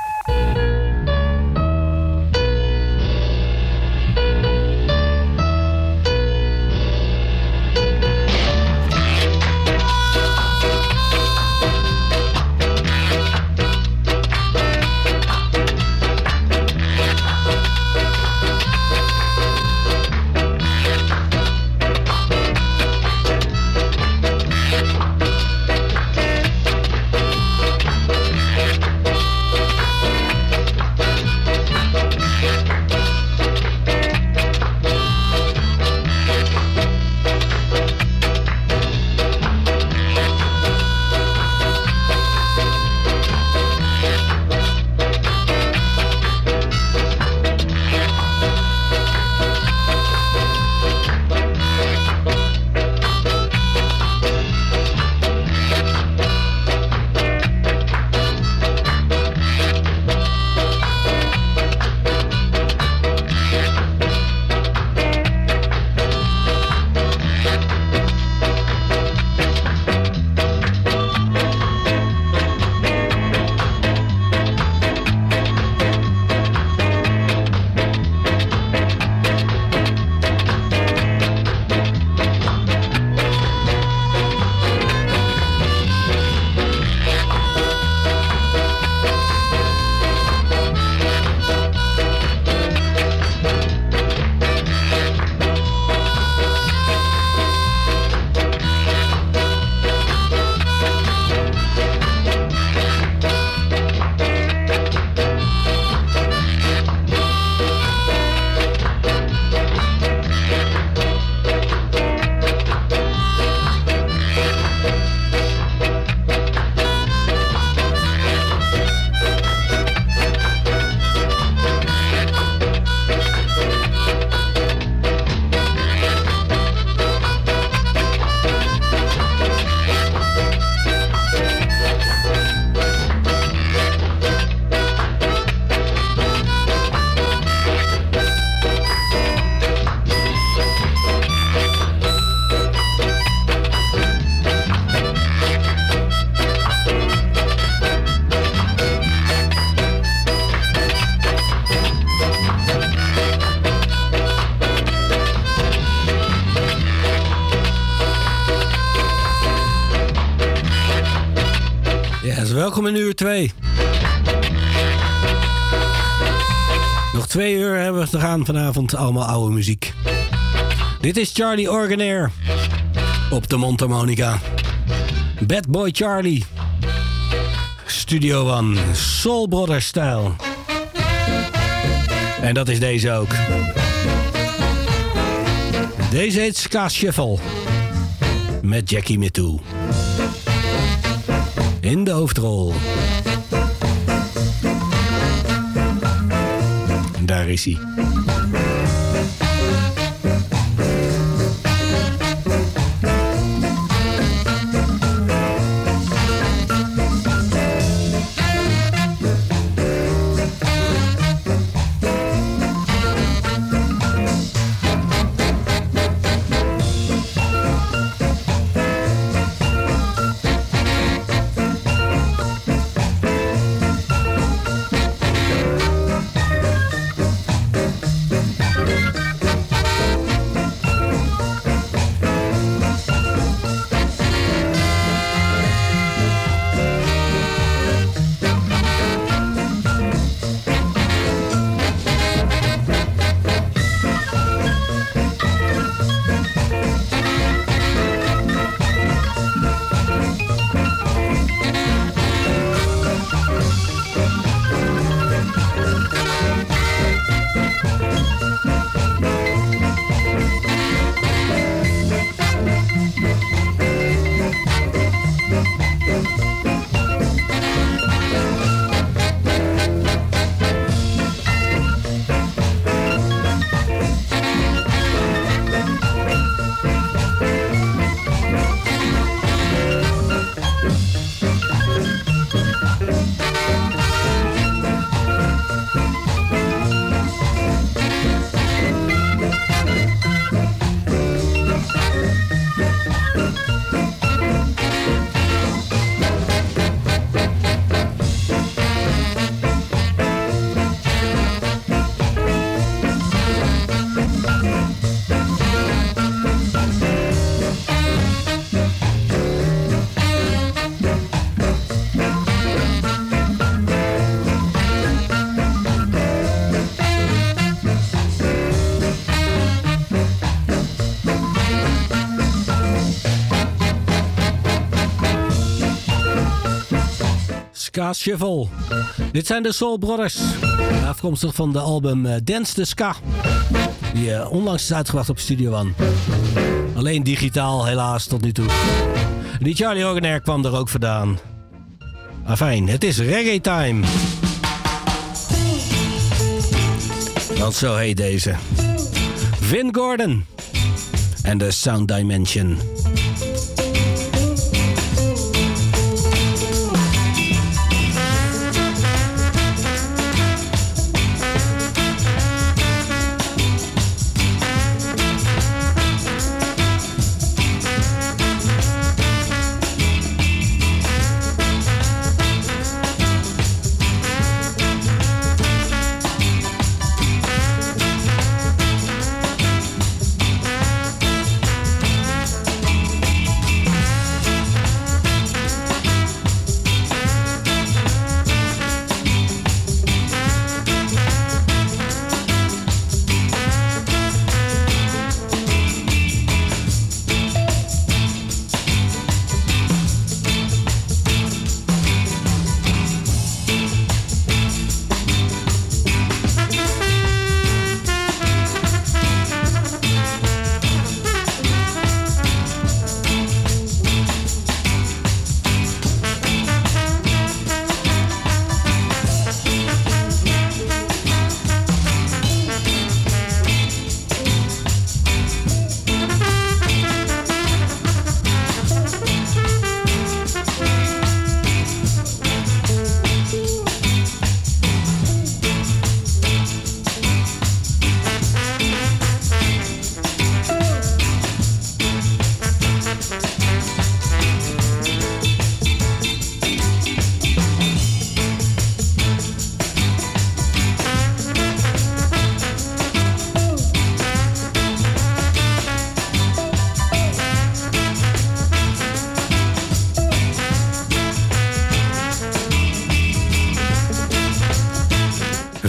Yes, welkom in uur twee. Nog twee uur hebben we te gaan vanavond. Allemaal oude muziek. Dit is Charlie Orgenair op de mondharmonica. Bad Boy Charlie. Studio One. Soul Brothers stijl. En dat is deze ook. Deze heet Ska Shuffle. Met Jackie Mittoo. In de hoofdrol. Daar is hij. Ska Shuffle. Dit zijn de Soul Brothers. Afkomstig van de album uh, Dance the Ska. Die uh, onlangs is uitgebracht op Studio One. Alleen digitaal helaas tot nu toe. Die Charlie Orgenair kwam er ook vandaan. Afijn, het is reggae time. Want zo heet deze. Vin Gordon. En de Sound Dimension.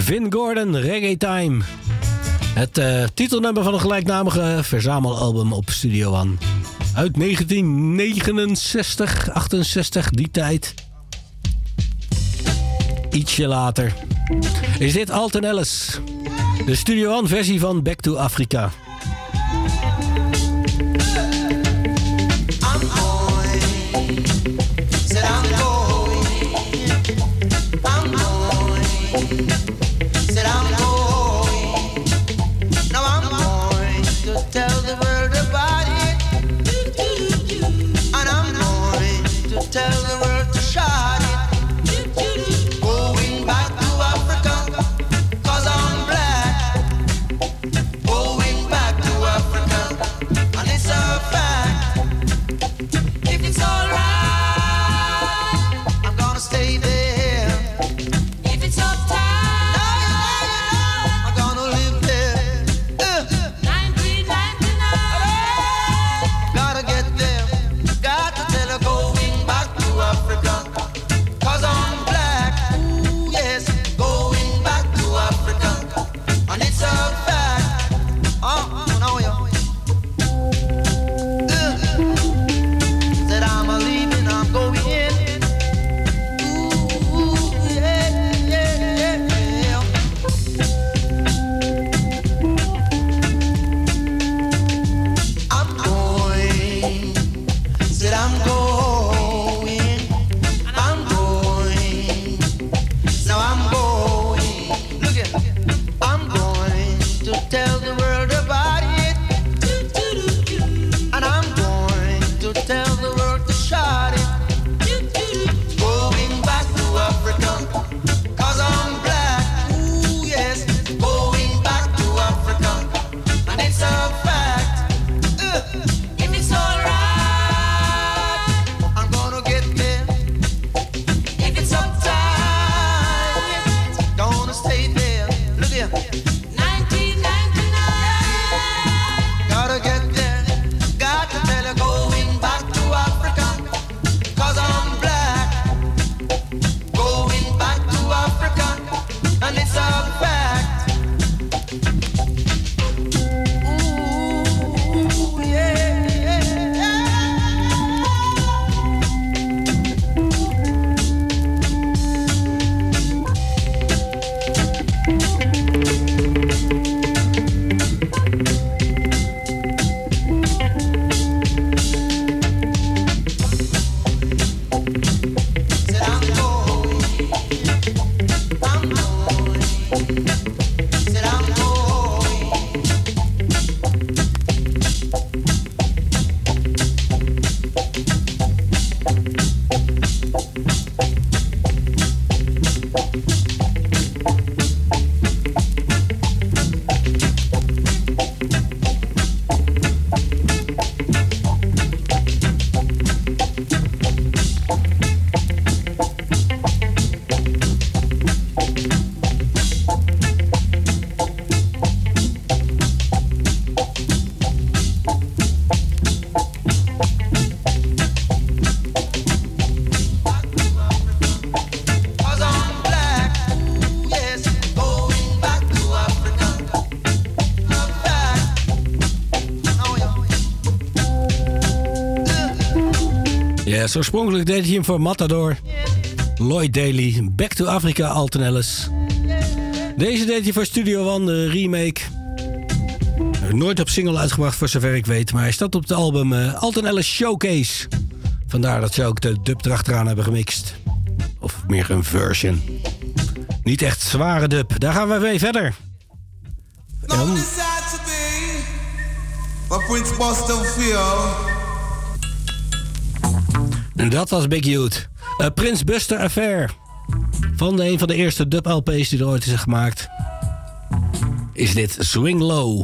Vin Gordon, Reggae Time. Het uh, titelnummer van een gelijknamige verzamelalbum op Studio One. Uit negentien negenenzestig, achtenzestig, die tijd. Ietsje later is dit Alton Ellis. De Studio One versie van Back to Africa. Yes, oorspronkelijk deed hij hem voor Matador. Lloyd Daly, Back to Africa, Alton Ellis. Deze deed hij voor Studio One, de remake. Nooit op single uitgebracht voor zover ik weet, maar hij staat op het album uh, Alton Ellis Showcase. Vandaar dat ze ook de dub erachteraan hebben gemixt. Of meer een version. Niet echt zware dub. Daar gaan we weer verder. En... En dat was Big Youth. Uh, Prince Buster Affair. Van de een van de eerste dub-L P's die er ooit is gemaakt. Is dit Swing Low.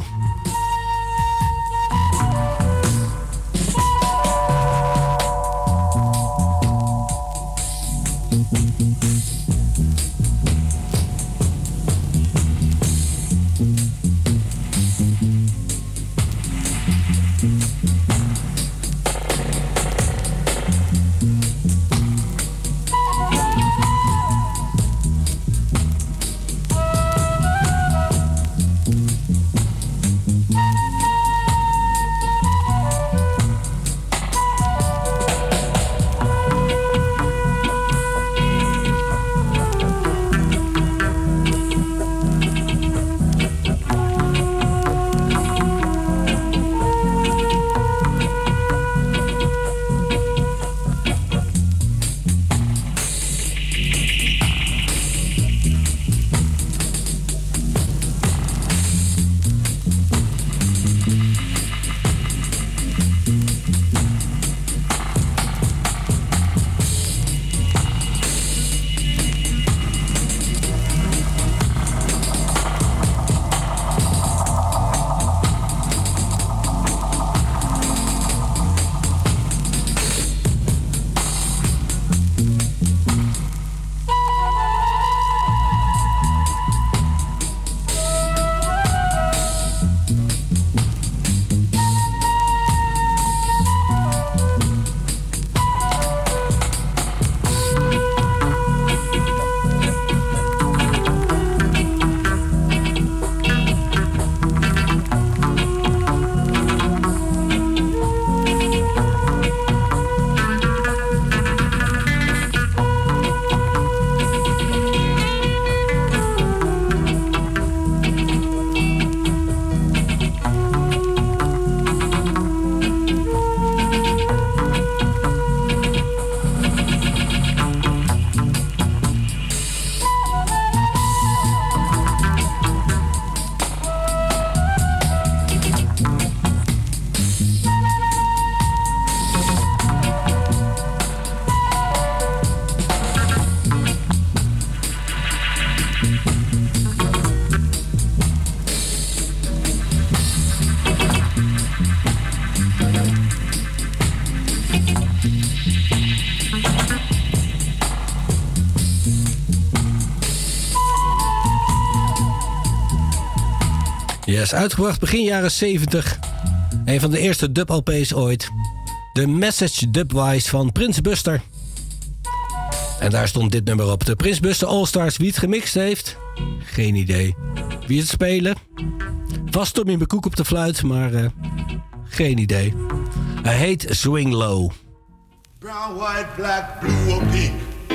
is uitgebracht begin jaren zeventig. Een van de eerste dub-L P's ooit. De Message Dubwise van Prins Buster. En daar stond dit nummer op. De Prins Buster All-Stars. Wie het gemixt heeft? Geen idee. Wie het spelen? Vast Tommy McCook op de fluit, maar uh, geen idee. Hij heet Swing Low. Brown, white, black, blue or pink.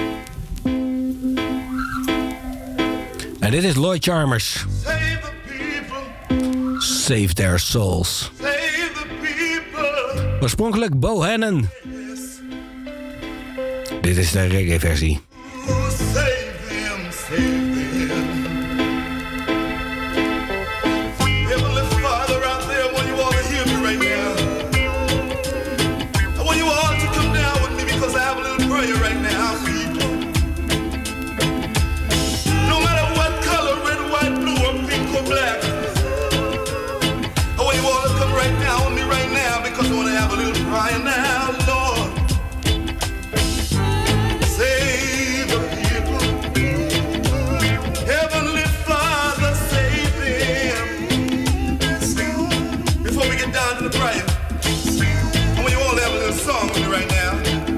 En dit is Lloyd Charmers. Save the people. Save their souls. Save the people. Oorspronkelijk Bohannon. Dit is de reggae versie. Save them, save them. Heavenly Father out there, I want you all to hear me right now. I want you all to come down with me because I have a little prayer right now, people. No matter what color, red, white, blue, or pink or black. I want you all to come right down with me right now because I want to have a little prayer now, Lord. Save the people. Heavenly Father, save them. Before we get down to the prayer, I want you all to have a little song with me right now.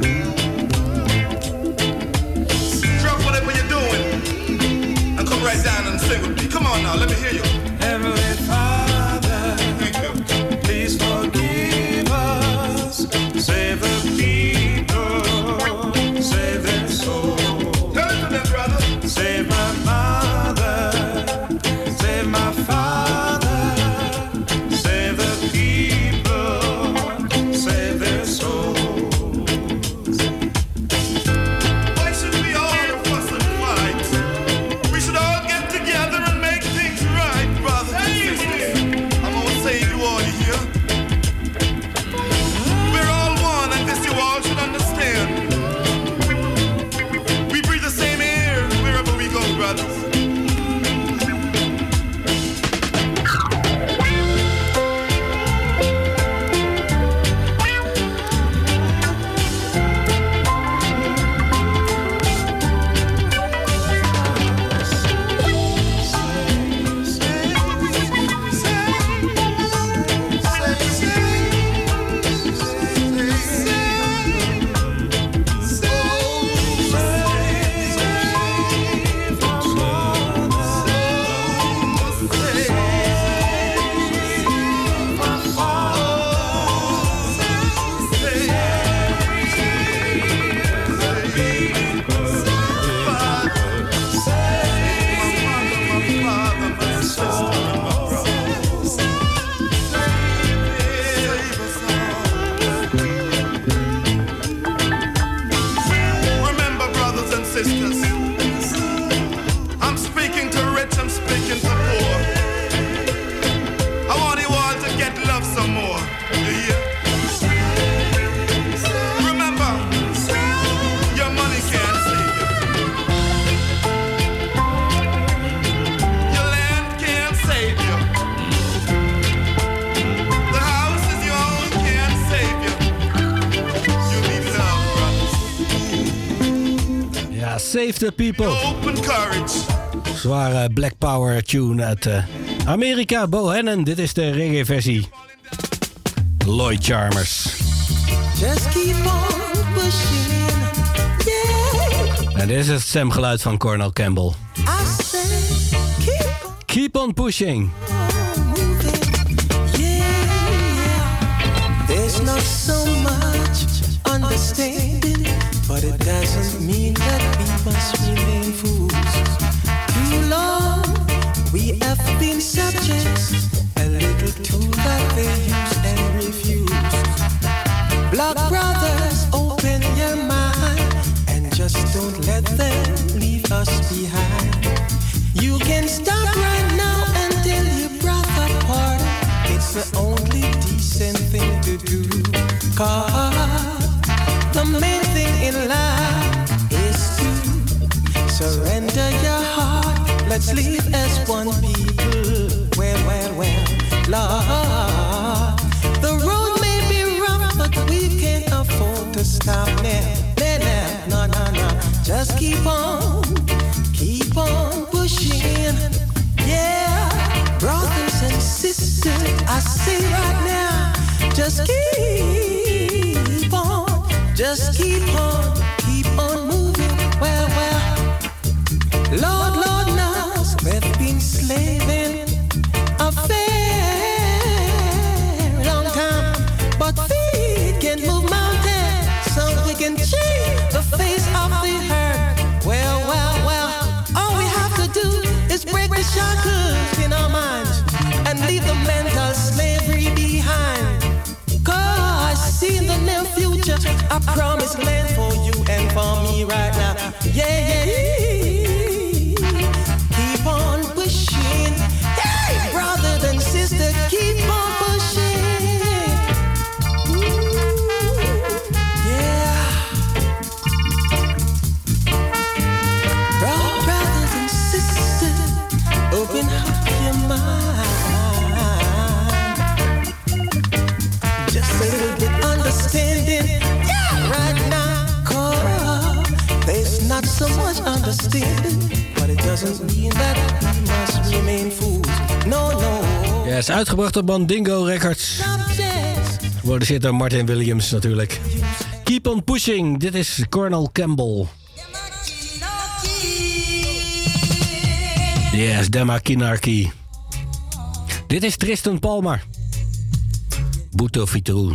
Drop whatever you're doing and come right down and sing with me. Come on now, let me hear you. Heavenly Father, please forgive us. Save the people. Save their soul. Tell it to them, brother. Save my mother. Save my father. Save the people. Save their souls. Why should we all fuss and fight? We should all get together and make things right, brothers and sisters. I'm gonna save you all here. We're all one, and this you all should understand. We breathe the same air wherever we go, brothers. Remember, brothers and sisters, I'm speaking to rich, I'm speaking to poor. I want you all to get love some more. You hear? Remember, your money can't save you. Your land can't save you. The house is your own can't save you. You need love, brothers. Ja, Save the People. Open courage. Zware Black Power tune uit uh, Amerika. Bohannon, dit is de reggae versie. Lloyd Charmers. Just keep on pushing, yeah. En dit is het stemgeluid van Cornel Campbell. I say, keep on Keep on pushing. moving, yeah. There's not so much understanding, but it doesn't mean that we must remain fools. Too long we have been subjects, a little tool that they use and refuse. Black brothers, open your mind and just don't let them leave us behind. You can stop right now and tell your brother pardon. It's the only decent thing to do. Cause the main thing in life is to surrender your heart. Let's live as one people. Well, well, well, Lord. The road may be rough, but we can't afford to stop now. No, no, no, no. Just keep on, keep on pushing. Yeah, brothers and sisters. I see right now, just keep on, just keep on, keep on moving. Well, well, Lord, Lord knows we've been slaving a very long time, but feet can move mountains, so we can change the face of the earth. Well, well, well, all we have to do is break the shackles in our minds and leave the mental slavery behind. Cause I see in the near future a promised land for you and for me right now. Yeah, yeah, yeah. Keep on pushing. Hey, brother and sister, keep on pushing. Ooh, yeah. Brothers and sisters, open up your mind. Just a little bit understanding, yeah, right now. Cause there's not so much understanding, but it doesn't mean that we must remain fools. No, no. Ja, is uitgebracht op Mandingo Records. Geproduceerd door Martin Williams natuurlijk. Keep on pushing. Dit is Colonel Campbell. Yes, Demakinarki. Dit is Tristan Palmer. Buto Fitrou.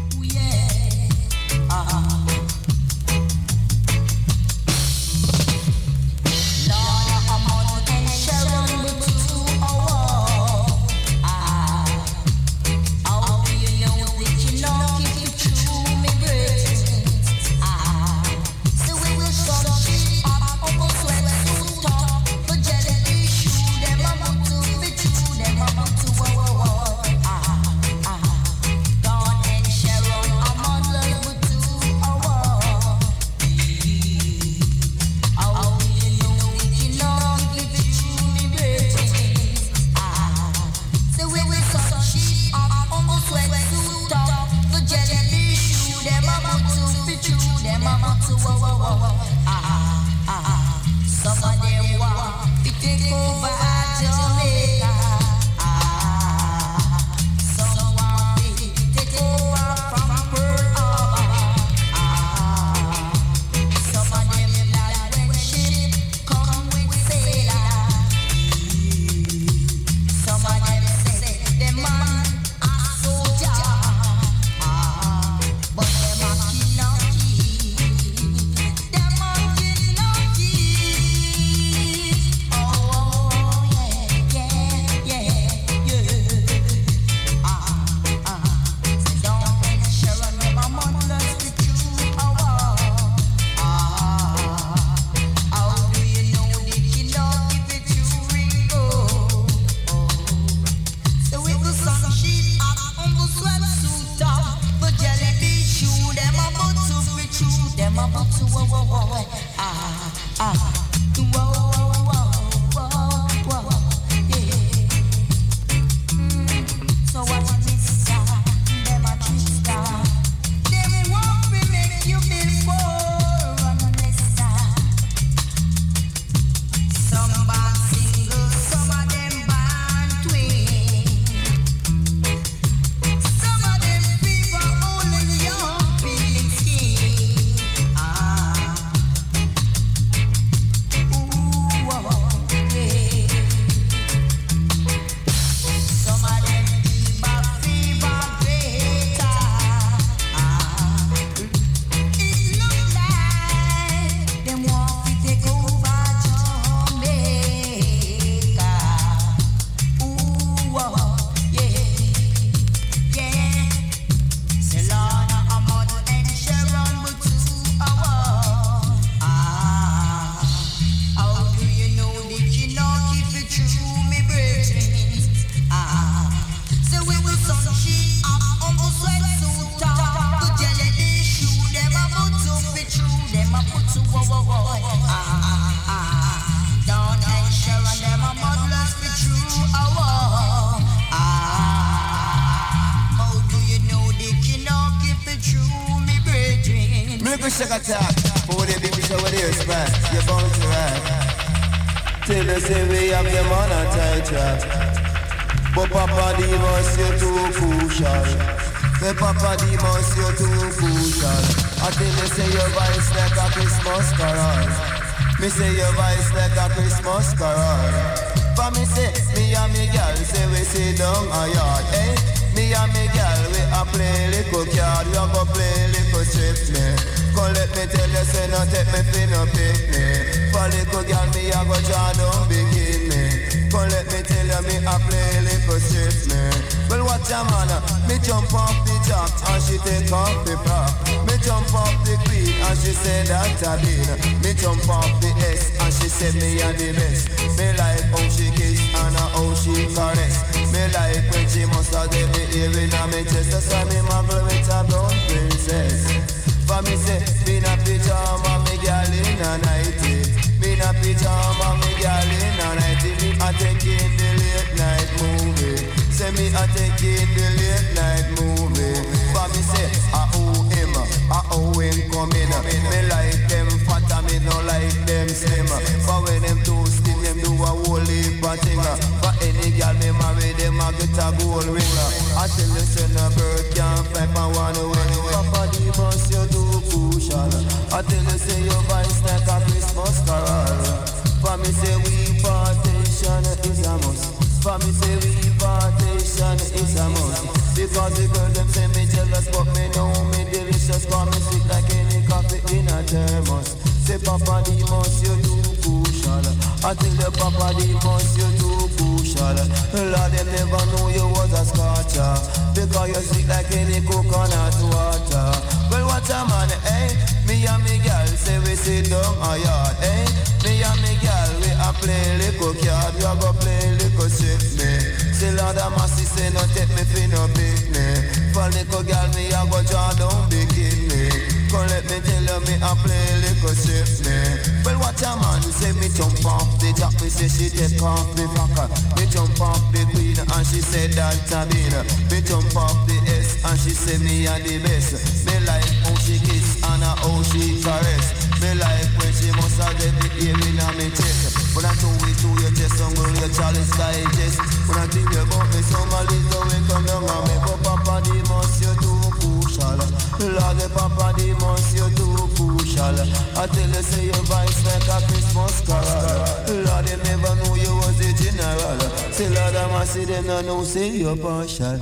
Sugar talk, for the baby show with ears spread, you're bound to ride. Till they say we have them on a tight track. But Papa Demus, you're too crucial. Me Papa Demus, you're too crucial. I tell you, say your voice like a Christmas carol. Me say your voice like a Christmas carol. For me say, me and me girl say we sit down a yard, eh? Me and me girl we a play little card, we a go play little trip me. Come let me tell you, say no take me fi no picnic. For little girl me a go draw down bikini. Come let me tell you, me a play little trip me. Well watch a man, me jump off the jack and she take off the prop. Me jump off the queen and she say that a bean. Me jump off the S and she say me a the best. Me like how she kiss and how she caress. Me like when she must have the ear in a me chest. That's why me muggle with a brown princess. For me say, me na pyjama, me girl in a nightie. Me na pyjama, me girl in a nightie. Me a take in the late night movie. Say me a take in the late night movie. For me say, ah oh him, ah oh him coming. Me like them fat and me no like them slim. But when them too slim, them do a whole heap of thing. For any girl me marry, them a get a gold ring. I tell you, say no bird can't fly for one wing. Papa Demus, you too crucial. I tell you, say your voice like a Christmas carol. For me say we partition is a must. For me say we partition is a must. Because the girl them say me jealous, but me know me delicious. Cause me sweet like any coffee in a thermos. Say Papa Demus, you too crucial. I tell you Papa Demus, you too crucial. Lord, them never know you was a scotcher. Because you sweet like any coconut water. Well, watch a man, eh? Me and me girl say we sit down a yard, eh? Me and me girl we a play little card. We a go play little ship me. Say Lord a massy say no take me fi no picnic. For little girl me a go draw down bikini. Come let me tell you me a play little ship me. Well watch a man say me jump off the jack. Me say she take off the fucker. Me jump off the queen and she said that a bean. Me jump off the S and she say me a the best. Me like how she kiss and how she caress. Me like when she must have get the ear in a me chest. When I do it to your chest, I'm going to chalice digest. When I think about me, somebody go and come down and me. But Papa Demus, you too crucial. Lord, Papa Demus, you too crucial. I tell you, say your voice like a Christmas carol. Lord, they never knew you was the general. Say Lord, I must see them no know, say you're partial.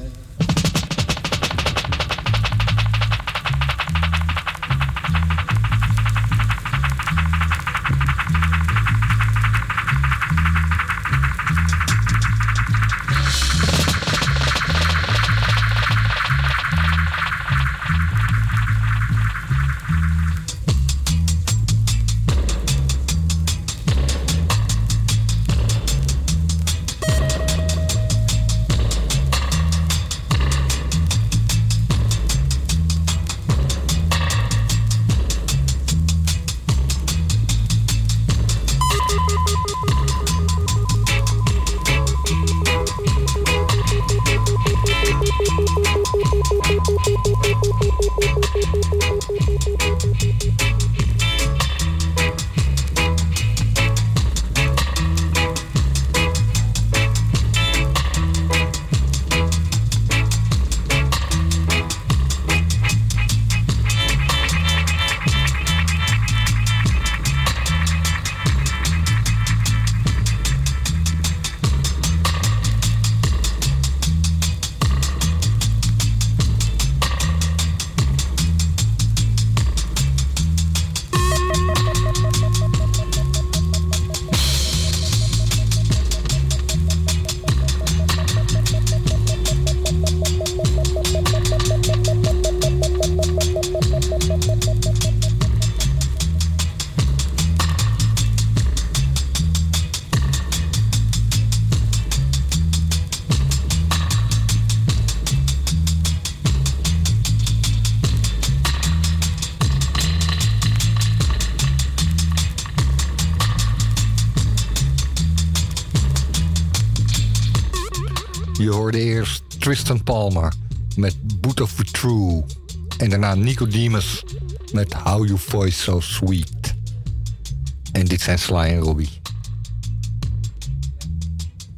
Je hoorde eerst Tristan Palmer met Boot of the True. En daarna Nico Demus met How You Voice So Sweet. En dit zijn Sly en Robbie.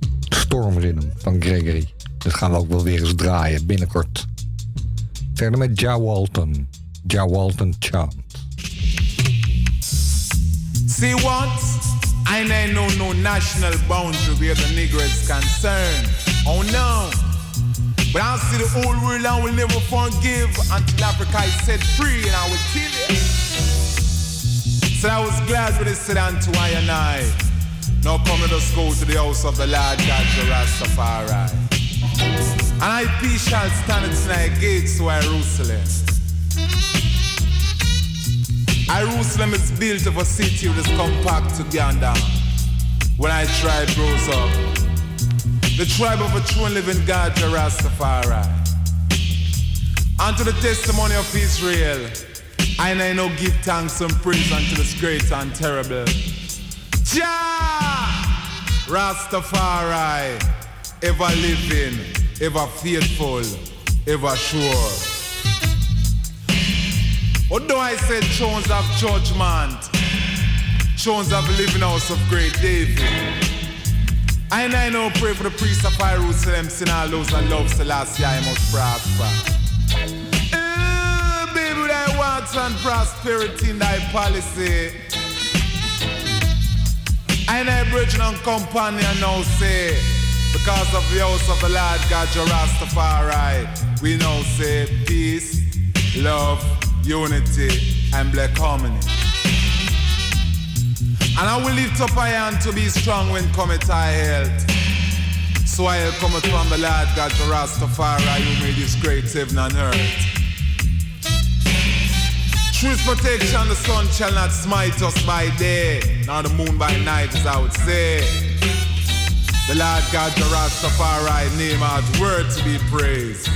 Storm Rhythm van Gregory. Dat gaan we ook wel weer eens draaien binnenkort. Verder met Ja Walton. Ja Walton Chant. See what? I know no national boundary where the Negro is concerned. Oh no. But I see the whole world and will never forgive until Africa is set free, and I will tell you. So I was glad when they said unto I and I, now come let us go to the house of the Lord God, the Rastafari. And I peace shall stand at thy gates to Jerusalem. Jerusalem is built of a city that is compact together. When I tribe rose up, the tribe of a true and living God, the Rastafari. Unto the testimony of Israel, I and I now give thanks and praise unto this great and terrible Jah Rastafari, ever living, ever faithful, ever sure. Although I said thrones of judgment, thrones of living house of great David, I and I now pray for the priest of Jerusalem, sin all those that love Selassie, I must prosper. Uh, baby, thy wants and prosperity in thy policy. I and I, brethren and companion, now say, because of the house of the Lord God, your Rastafari, we now say peace, love, unity, and black harmony. And I will lift up my hand to be strong when cometh I health. So I'll come from the Lord God, the Rastafari, who made this great heaven and earth. Through his protection, the sun shall not smite us by day, nor the moon by night, as I would say. The Lord God, the Rastafari, name out word to be praised.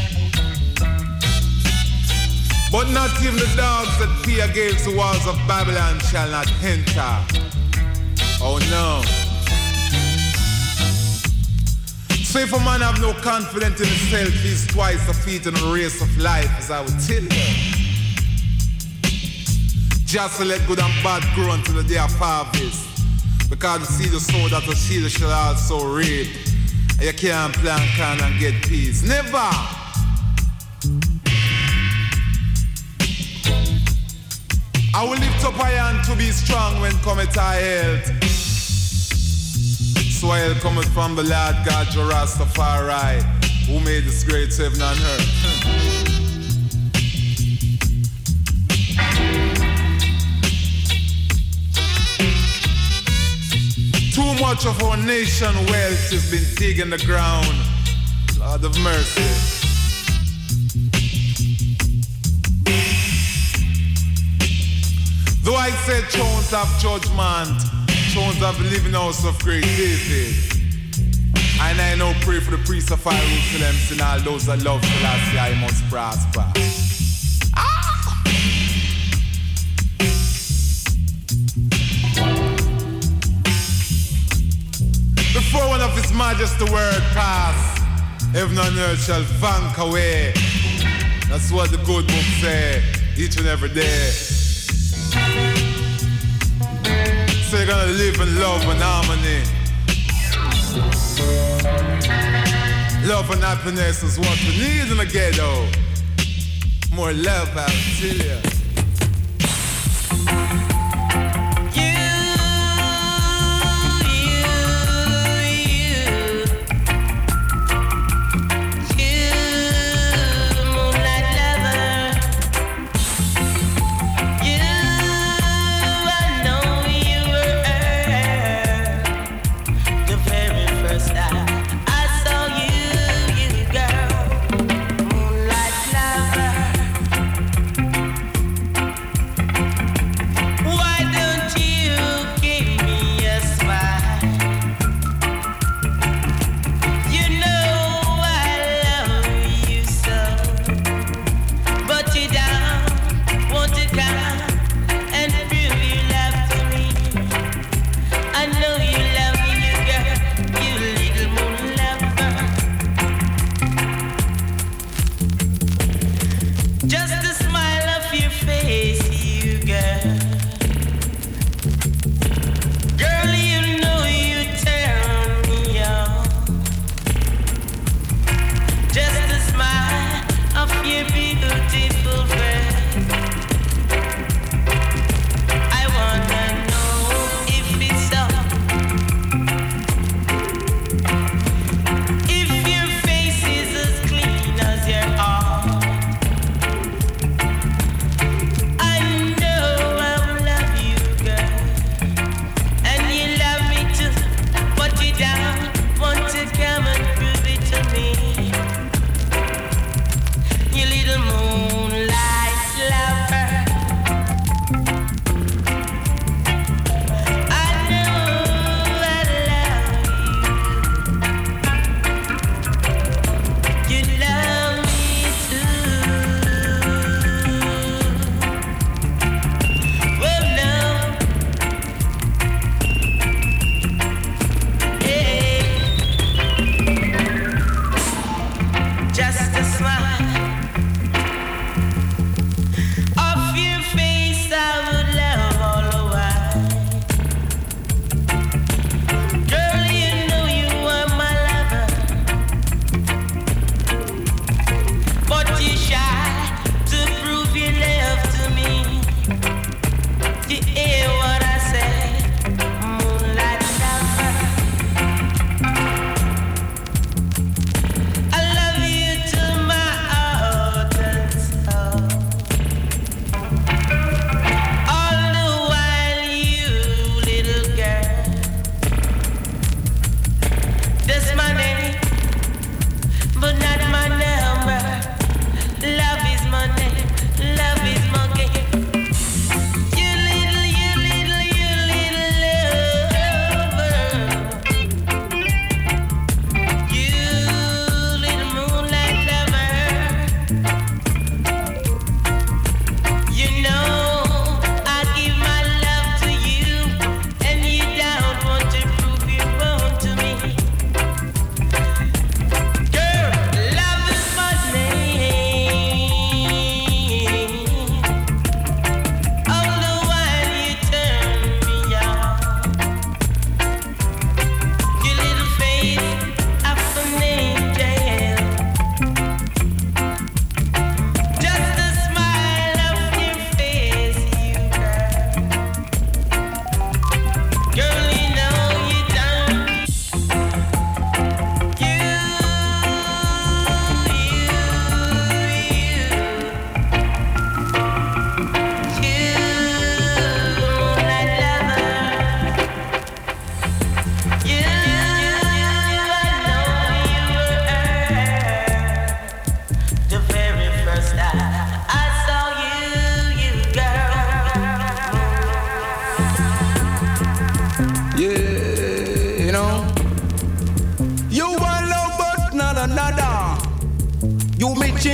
But not even the dogs that fear against the walls of Babylon shall not enter. Oh no. So if a man have no confidence in himself, he's twice defeated in the race of life, as I would tell you. Just to let good and bad grow until the day of harvest. Because the seed of sow that the seed shall also reap. And you can't plant corn and get peace. Never! I will lift up my hand to be strong when cometh I health. So I'll come from the Lord God, your Rastafari, who made this great heaven and earth. Too much of our nation wealth has been digging the ground. Lord of mercy. Though I said thrones of judgment, thrones of the living house of great David, and I now pray for the priests of Jerusalem, and all those that love Selassie, I must prosper. Ah! Before one of his majesty word pass, heaven and earth shall vank away. That's what the good book say, each and every day. So you're gonna live in love and harmony. Love and happiness is what we need in the ghetto. More love, I tell you.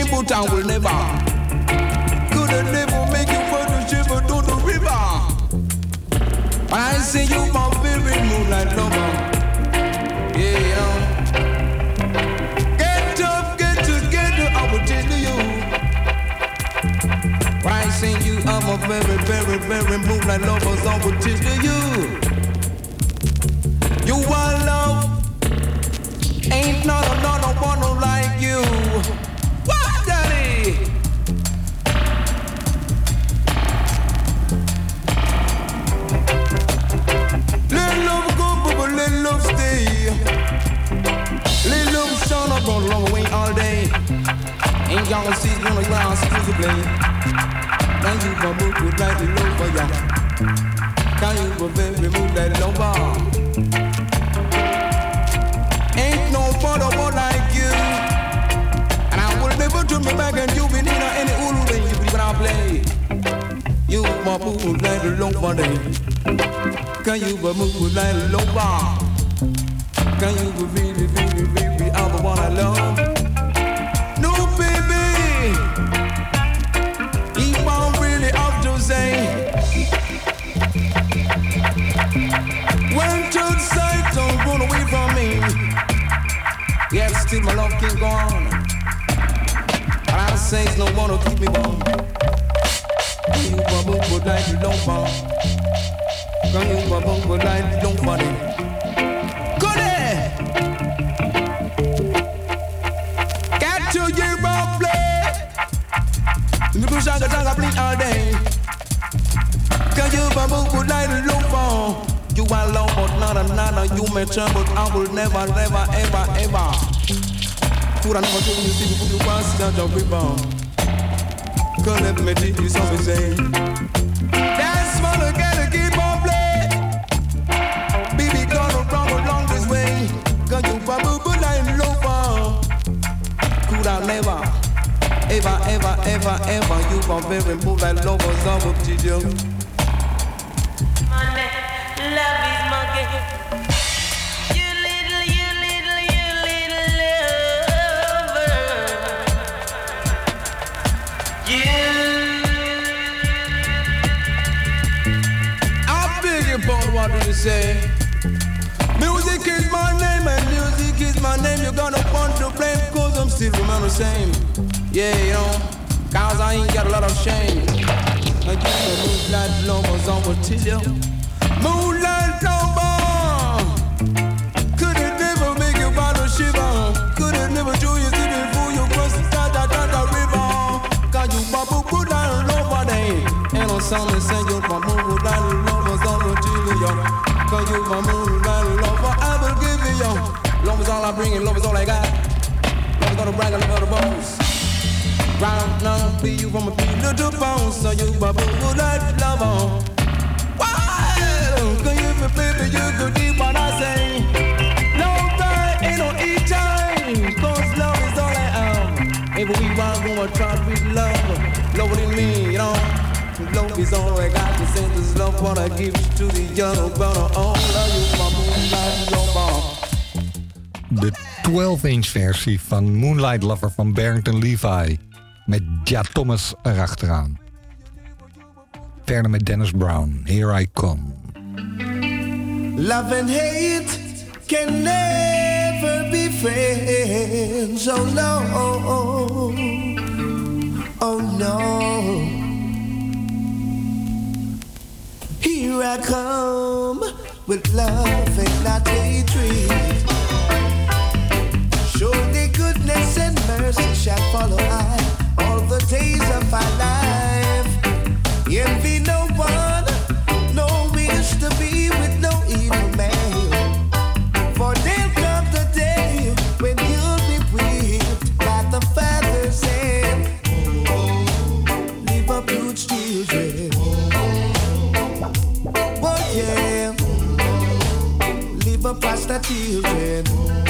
but I will never. Could have never make you for the shiver to the river. But I say you my very moonlight lover. Yeah. Get up, get together, I will tell you. But I say you are my very, very, very moonlight lover, so I will tell you. You are love. Ain't none, none, one like you. What, daddy? Let love go, but let love stay. Let love shine up on long way all day. Ain't y'all see on the ground exclusively. Can you for move with like the love for ya? Can you for very move like the love? Ain't no father one like you. And I will never turn me back and you be in any ulu when you when I play. You my boo like the long body. Can you but move like the long bar? Can you but really, really, really I'm the one I love? No baby. If I'm really up to say when to sight don't run away from me. Yet still my love can't go on. But I say no one will keep me warm. Can you bubble but like you don't fall? Can you bubble but like you don't fall? Go there! Get to your ball play. The people shaka shaka blink all day. Can you bubble but like you don't fall? You are love, but not another. You may turn, but I will never, never, ever, ever. Could I never do you see you put your pants down your rebound? Could let me teach you something, say. That's small again, keep on play. Baby, gonna run along this way. Cause you probably would like love for. Could I never, ever, ever, ever, ever. You can very move like lovers of a teacher. Love is my game. You little, you little, you little lover. You. I beg your pardon, what did you say? Music is my name and music is my name. You're gonna want to blame cause I'm still remember the same. Yeah, you know, cause I ain't got a lot of shame. I give a moonlight lovers on what tell you. Moonlight lover, could it never make you bottle shiver? Could it never show you see before you cross the da da da da river? Cause you bubble put down over there. And on Sunday send you for moonlight lovers on the T V. Cause you my moonlight lover, I will give you yo. Love is all I bring and love is all I got. Love is gonna brag and love the bones. Round now, be you from a pillar to bones. So you bubble moonlight lover. Can you be baby, you go deep what I say. Love time ain't no eat time. Cause love is all I am. If we want to try with love, love it in me, you know. Love is all I got to say. This love what I give to the young brother. All of you, my moonlight lover. De twaalf inch versie van Moonlight Lover van Barrington Levy. Met Ja Thomas erachteraan. Verder met Dennis Brown, Here I Come. Love and hate can never be friends. Oh no, oh no. Here I come with love and not hatred. Surely goodness and mercy shall follow I all the days of our life. Envy no one, no wish to be with no evil man. For there'll come the day when you'll be whipped by the Father's hand. Leave up huge children. Oh yeah. Leave up pasta children.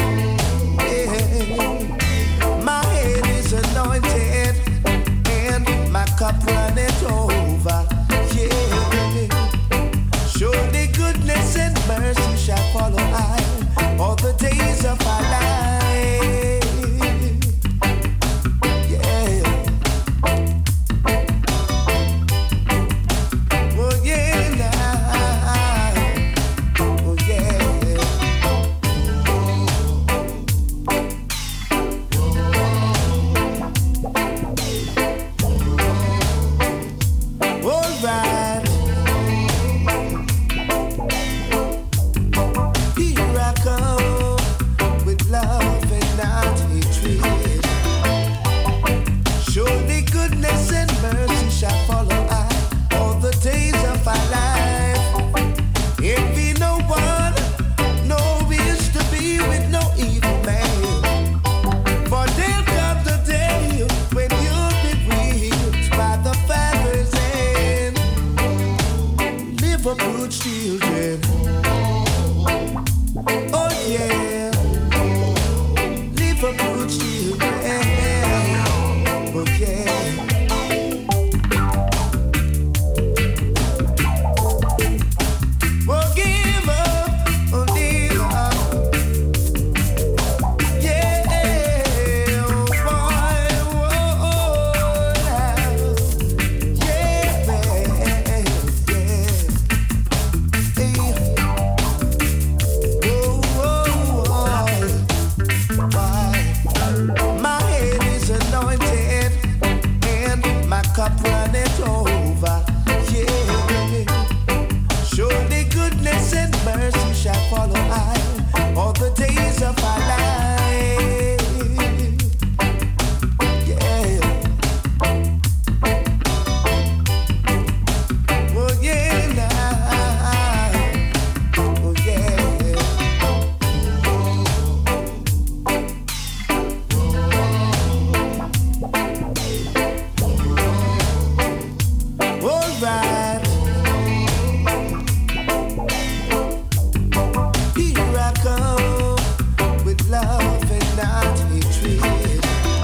Yeah. My head is anointed and my cup runneth over. Yeah. Surely goodness and mercy shall follow I all the days of our life. Yeah. alright. Here I come with love and not hatred.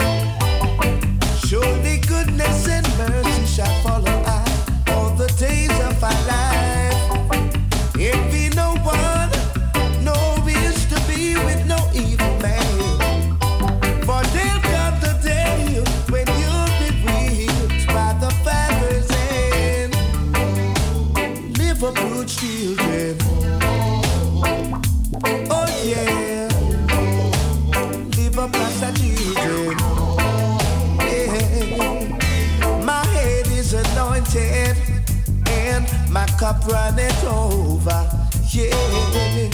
Surely goodness and mercy shall follow us all the days of our life. Envy no one, no wish to be with no evil man. For there'll come the day when you'll be whipped by the father's hand. Live a good children. Oh yeah. Live a blessed children. Yeah. My head is anointed and my cup runneth over. Yeah.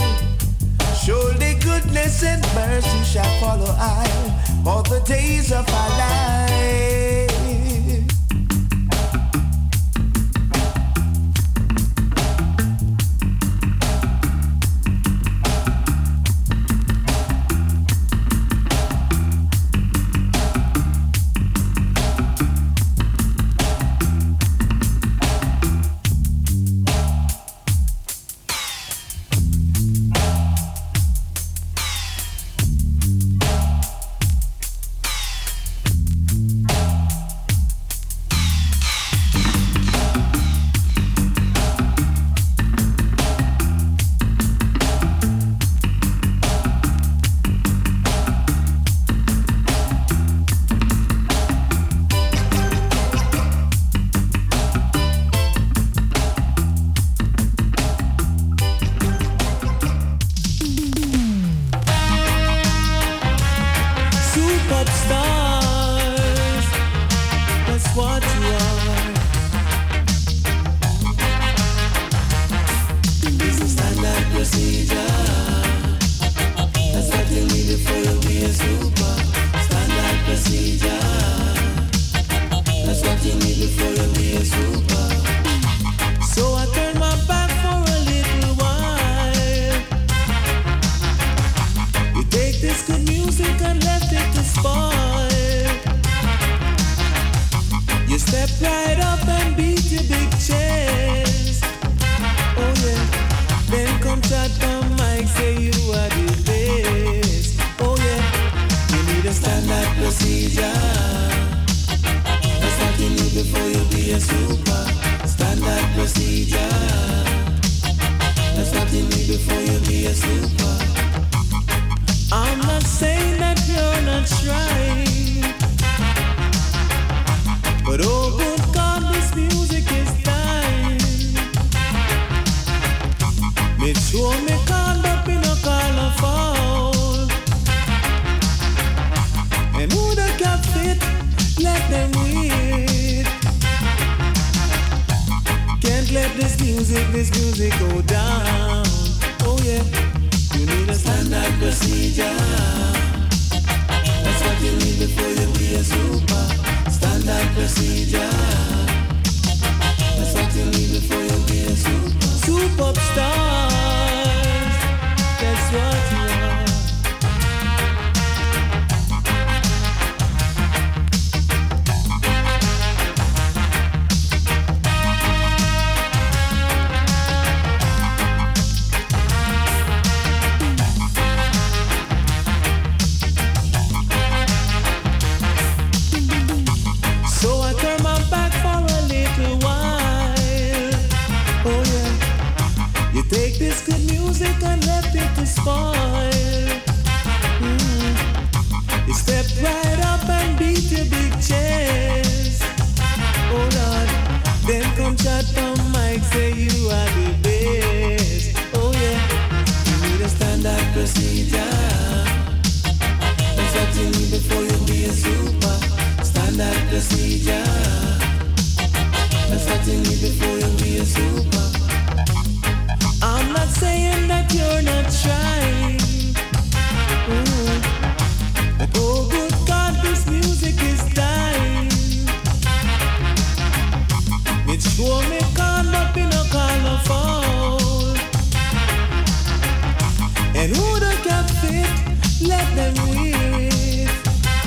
Surely goodness and mercy shall follow I all the days of our life.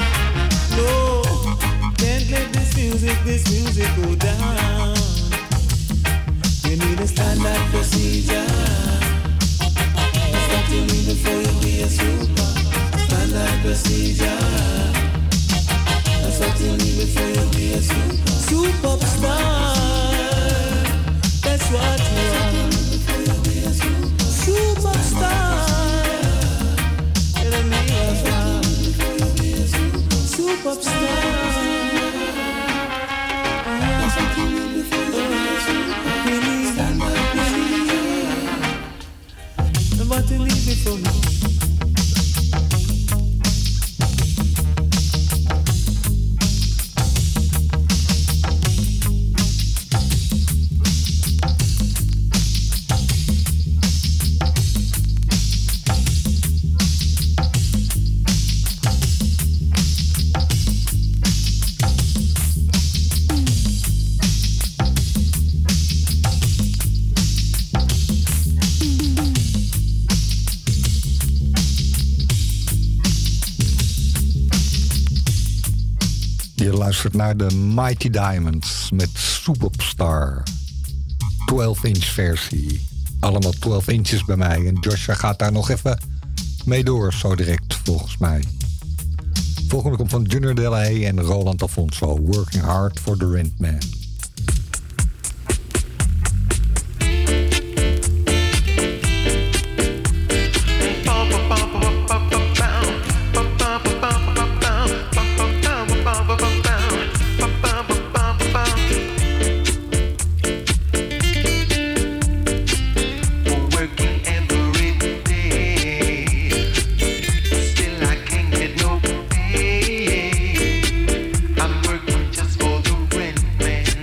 This music go down. procedure. That's what you need before you be a super star. That's what you are. Superstar. Enemy of God. Superstar. That's what you need before you be a super. Stand up, and what you need before you. Luistert naar de Mighty Diamonds met Superstar. twaalf inch versie. Allemaal twaalf inches bij mij. En Joshua gaat daar nog even mee door, zo direct, volgens mij. Volgende komt van Junior De La Haye en Roland Alfonso. Working Hard for the Rent Man. I'm working just for the rent man.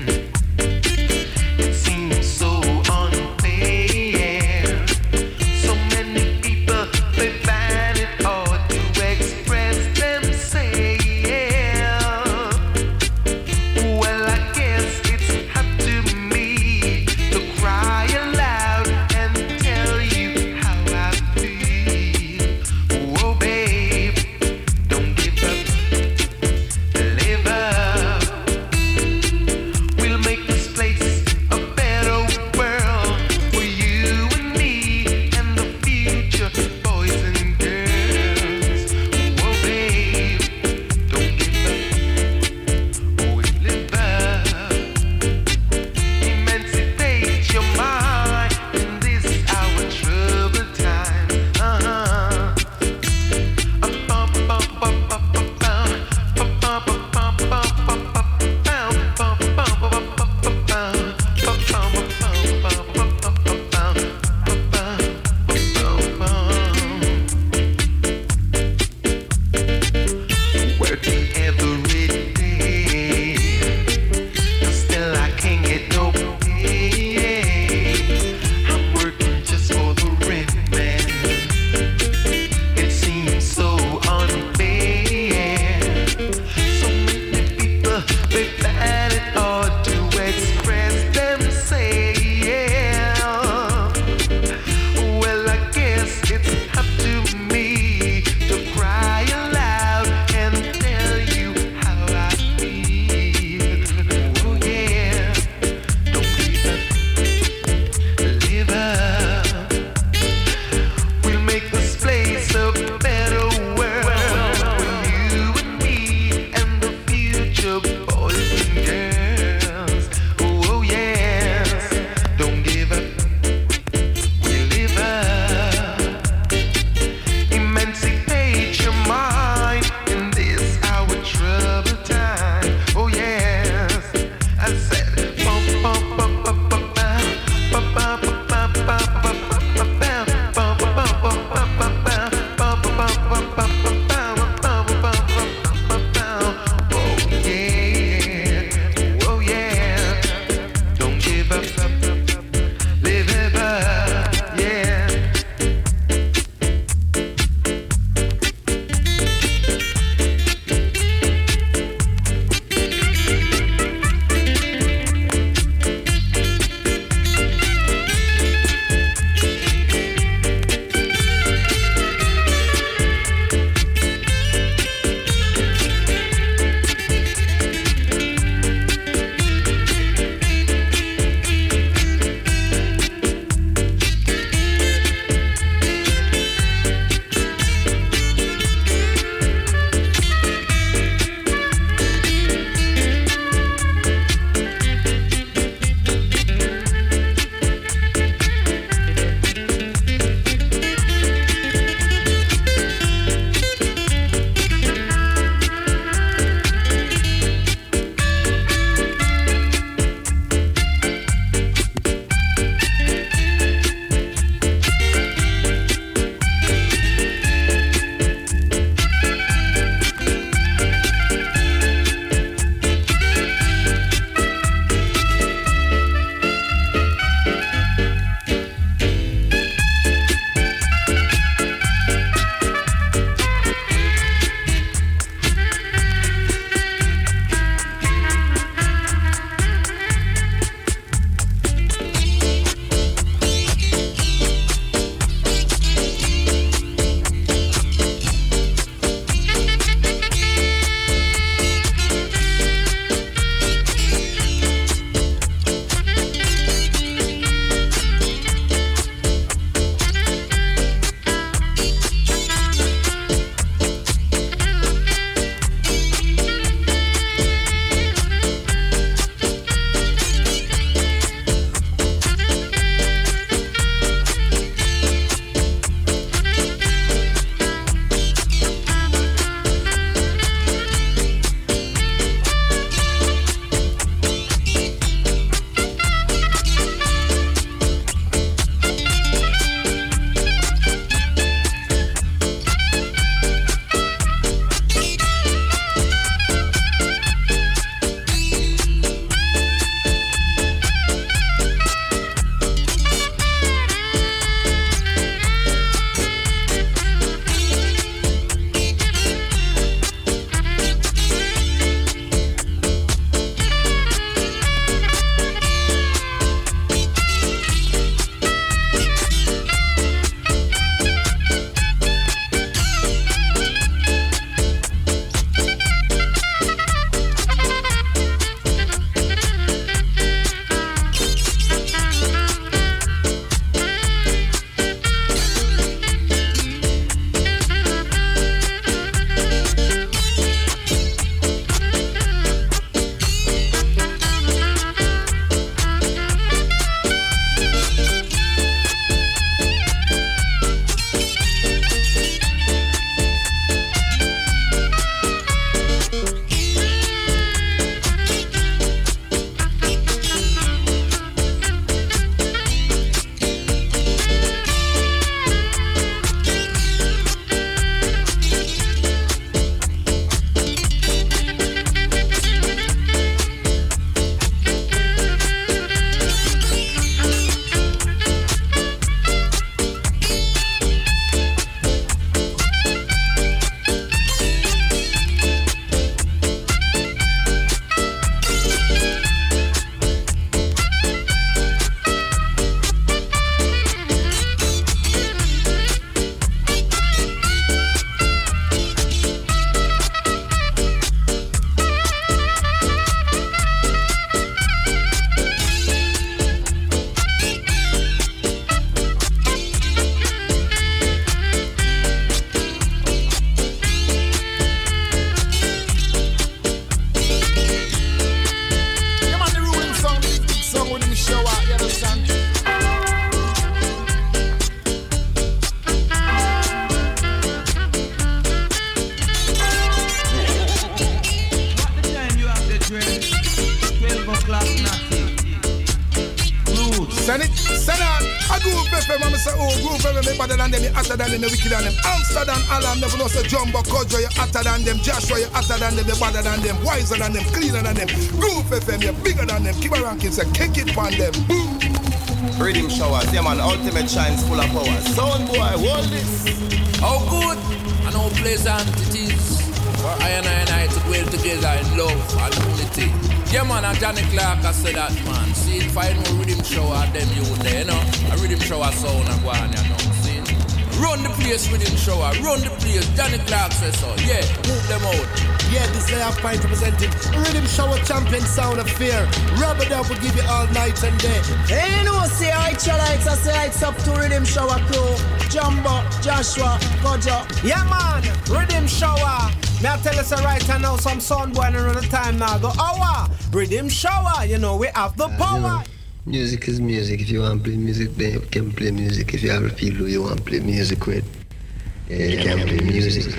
Send it, send on. I Groove F M, I'm say, oh, Groove F M, me better than them, you hotter than them, you wicked than them. Amsterdam, Alan, never know say Jumbo, Kojo, you hotter than them. Joshua, you hotter than them, you better than them. Wiser than them, cleaner than them. Groove F M, you bigger than them. Keep a ranking, say, kick it on them. Boom. Rhythm showers, yeah man, ultimate shines full of power. Sound boy, hold this. How good and how pleasant it is for I and I and I to dwell together in love and unity. Yeah man, and Johnny Clark I said that man. See if I know rhythm shower them you there, you know. A rhythm shower sound and go on, you know. See? Run the place rhythm shower, run the place. Johnny Clark says so. Yeah, move them out. Yeah, this day I'm fine representing Rhythm Shower champion sound of fear. Rub it up will give you all night and day. Hey, no, say I try lights, I say it's up to Rhythm Shower crew. Jumbo, Joshua, Kojo. Yeah, man, Rhythm Shower. May I tell us right now, some sound boy another time now. Go, hour, Rhythm Shower, you know, we have the power. Music is music. If you want to play music, then you can play music. If you have a feel who you want to play music with, yeah, you can play music.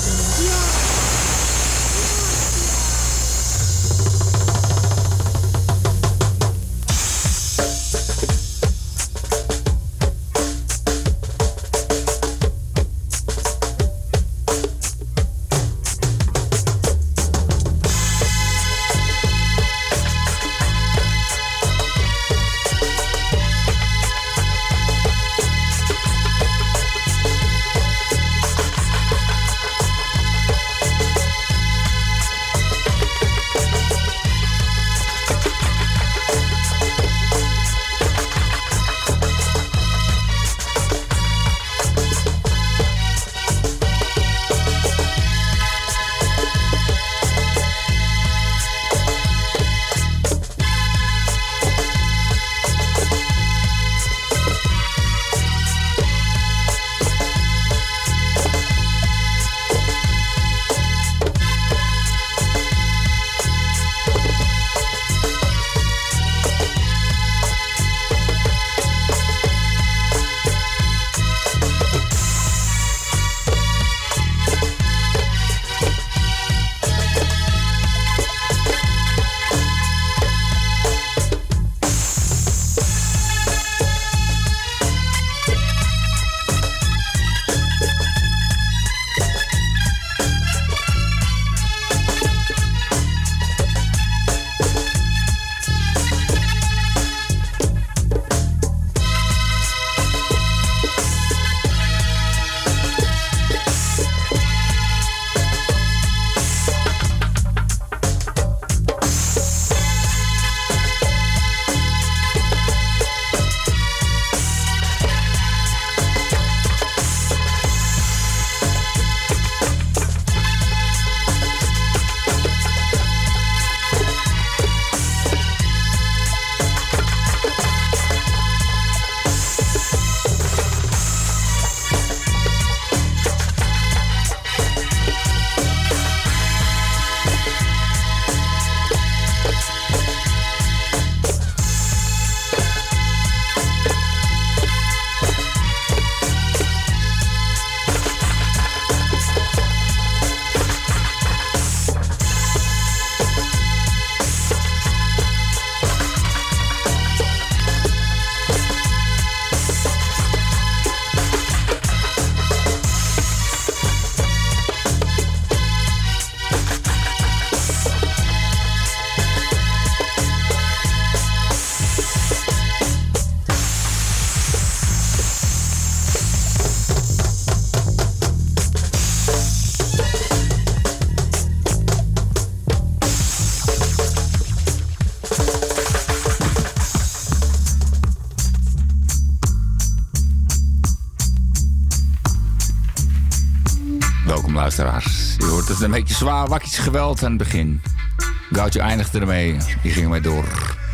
luisteraars. Je hoort het een beetje zwaar wakkies geweld aan het begin. Goudje eindigde ermee. Die ging mee door.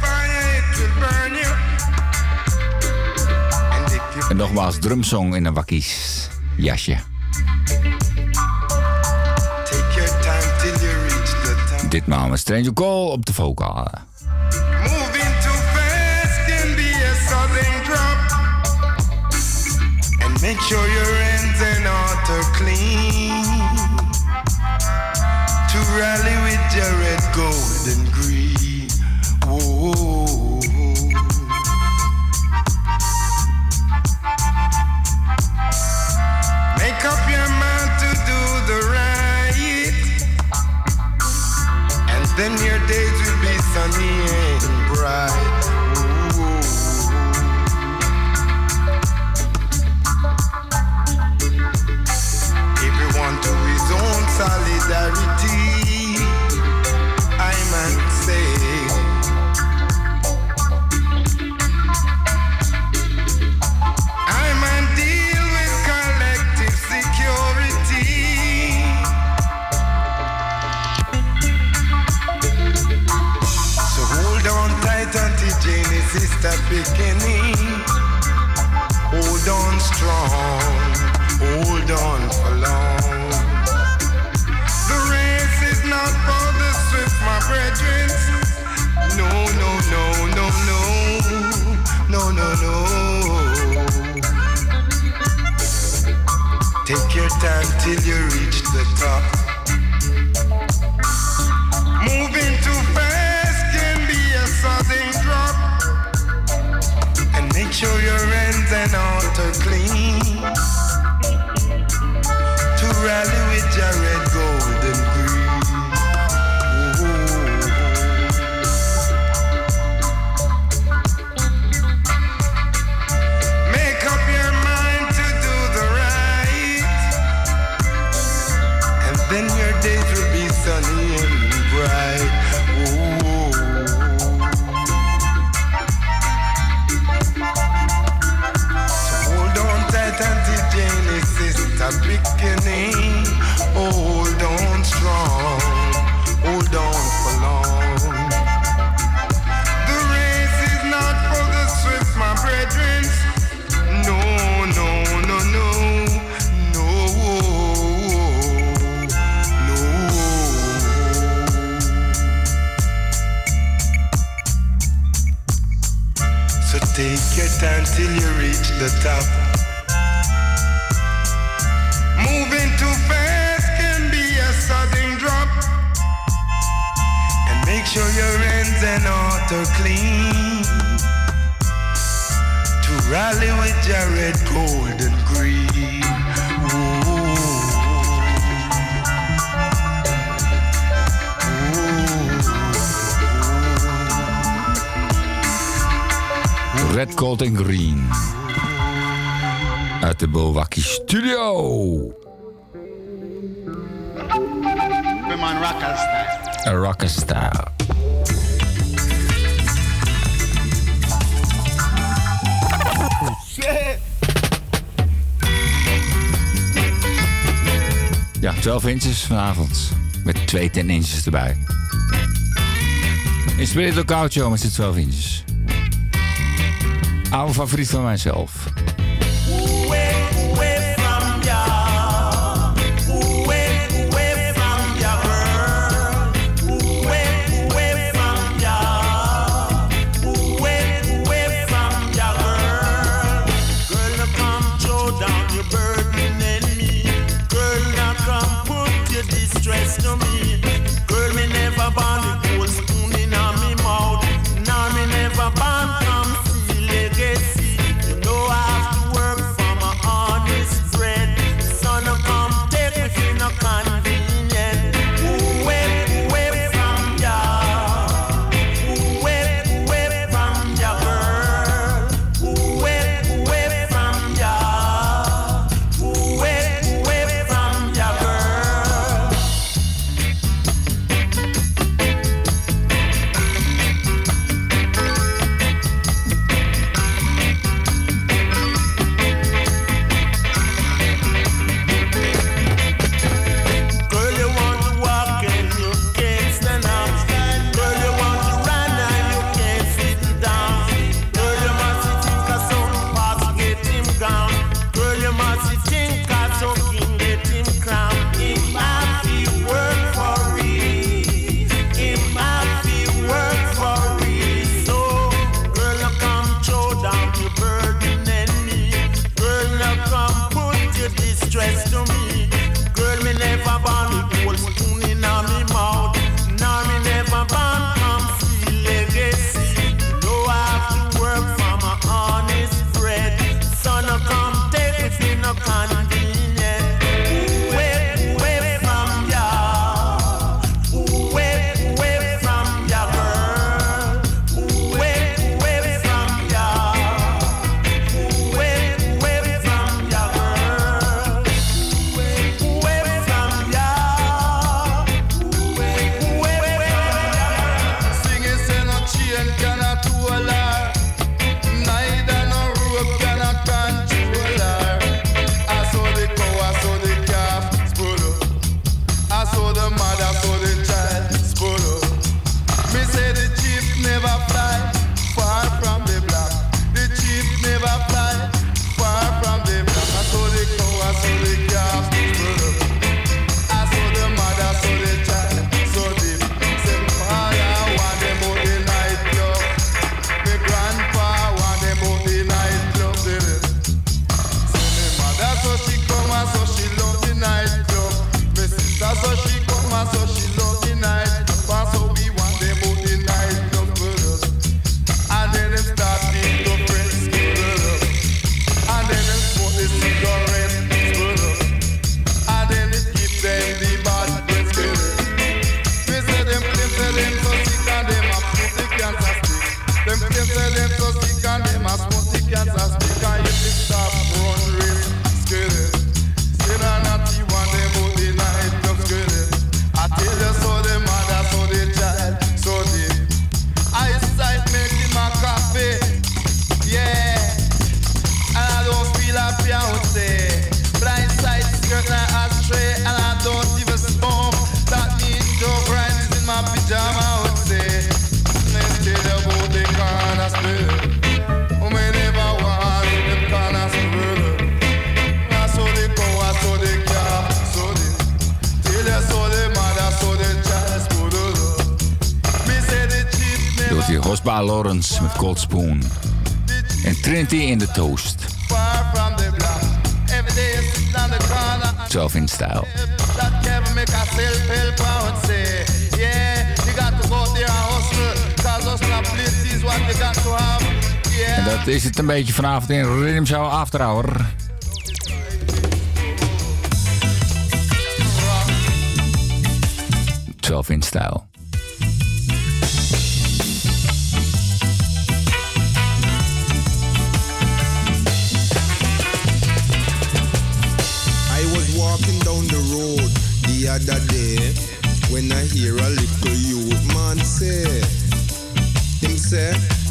En nogmaals drumsong in een wakkies jasje. Ditmaal met Stranger Call op de vocalen. Moving too fast can be a sudden drop. And make sure your hands and heart are clean. To rally with your red, gold and green. Whoa. just a beginning. Hold on strong, hold on for long. The race is not for the swift, my brethren. No, no, no, no, no, no, no, no. Take your time till you reach the top. Moving too fast can be a sudden drop. And make sure your ends and heart are clean. To rally with your red, gold and green. Ooh. Make up your mind to do the right, and then your days will be sunny and bright. Ooh. So hold on tight until Genesis a beginning. Hold on strong, hold on for long. The race is not for the swift, my brethren. No, no, no, no, no, no. So take your time till you reach the top. Moving too fast can be a sudden drop. And make sure your ends and heart are clean. To rally with your red, gold and green. Red, Gold en Green. Uit de Bowakkie Studio. We're on rocker style. A rocker style. Shit. Ja, twaalf inches vanavond. Met twee ten inches erbij. In Spirit Lookout Show met z'n twaalf inches. Oude favoriet van mijzelf. Legacy, you know I've Eva Lawrence met Cold Spoon. En Trinity in the Toast. Far from the block. Every day you sit on the corner. twelve in style. That can make a self-help out say. Yeah, you got to go there and hustle. Cause hustle and place is what you got to have. Yeah. En dat is het een beetje vanavond in Rhythm Show After Hour. twelve in style. Walking down the road the other day when I hear a little youth man say, him say,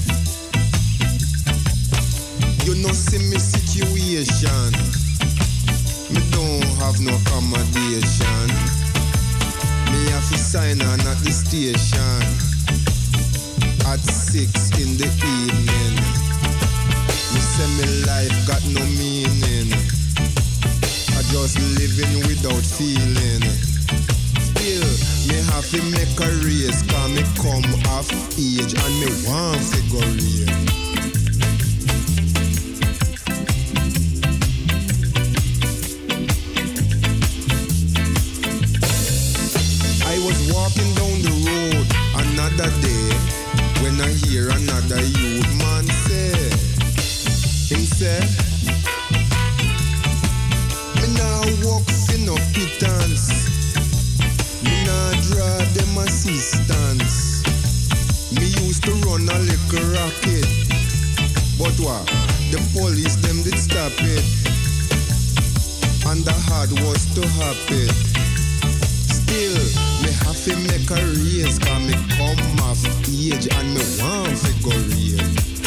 you know see me situation, me don't have no accommodation, me have to sign on at the station at six in the evening, me say me life got no meaning, just living without feeling. Still, me have to make a race, cause me come of age and me want to go real. I was walking down the road another day when I hear another youth man say, him say, walk in no pittance, me nah draw them assistance. Me used to run a little rocket, but what? The police them did stop it, and the hard was to happen. Still, me have to make a race, cause me come of age and me want to go real.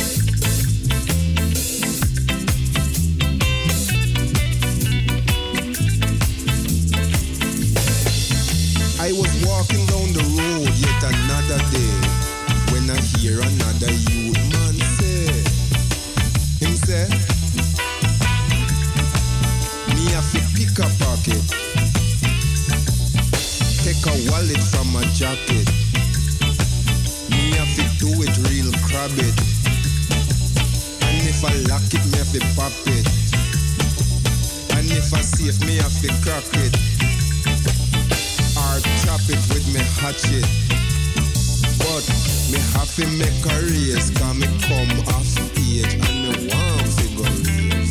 I was walking down the road yet another day when I hear another youth man say, him say, me have to pick a pocket, take a wallet from my jacket, me have to do it real crab it, and if I lock it me have to pop it, and if I safe me have to crack it, or chop it with me hatchet. But me have to make a race, cause me come off age and me want to go race.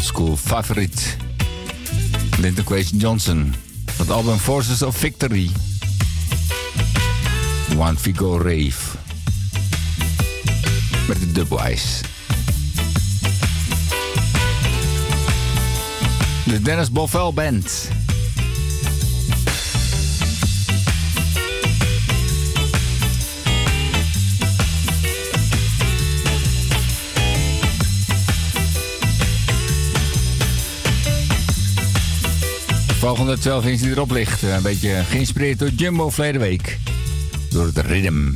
oldschool favoriet. Linton Kwesi Johnson. Het album Forces of Victory. One Figo Rave. Met de Dubwise. De Dennis Bovell Band. Volgende twaalf inch die erop ligt. Een beetje geïnspireerd door Jumbo verleden week. Door het Rhythm.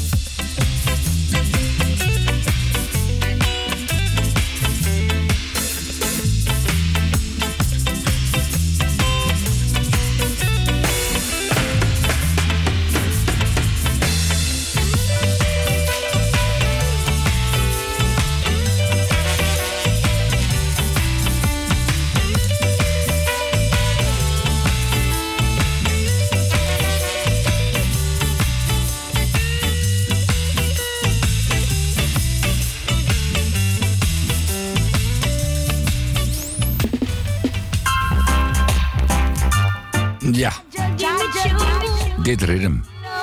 Ja, dit ritme.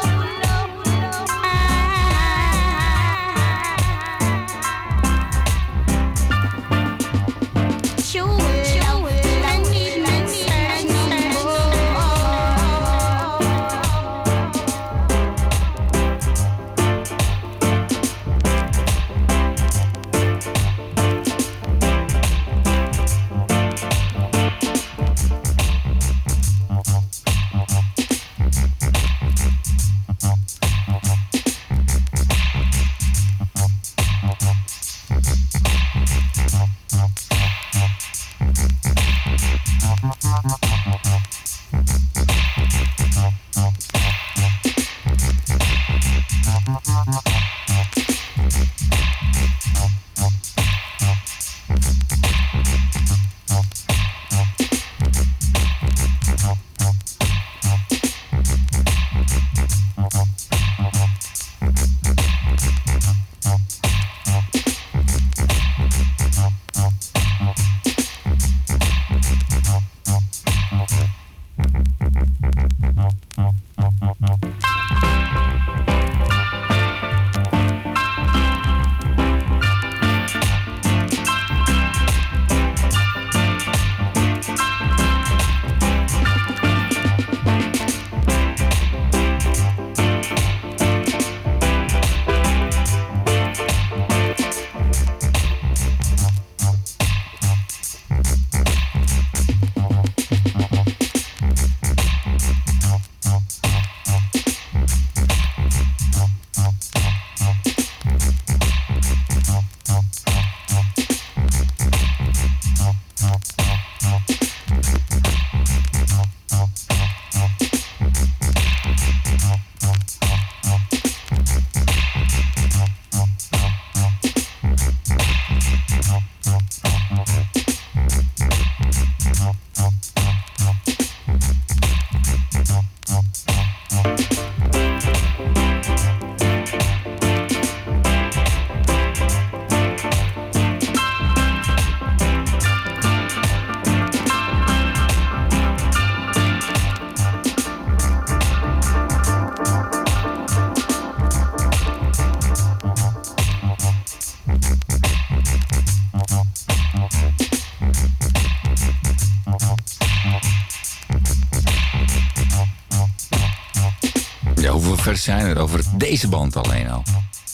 Zijn er over deze band alleen al.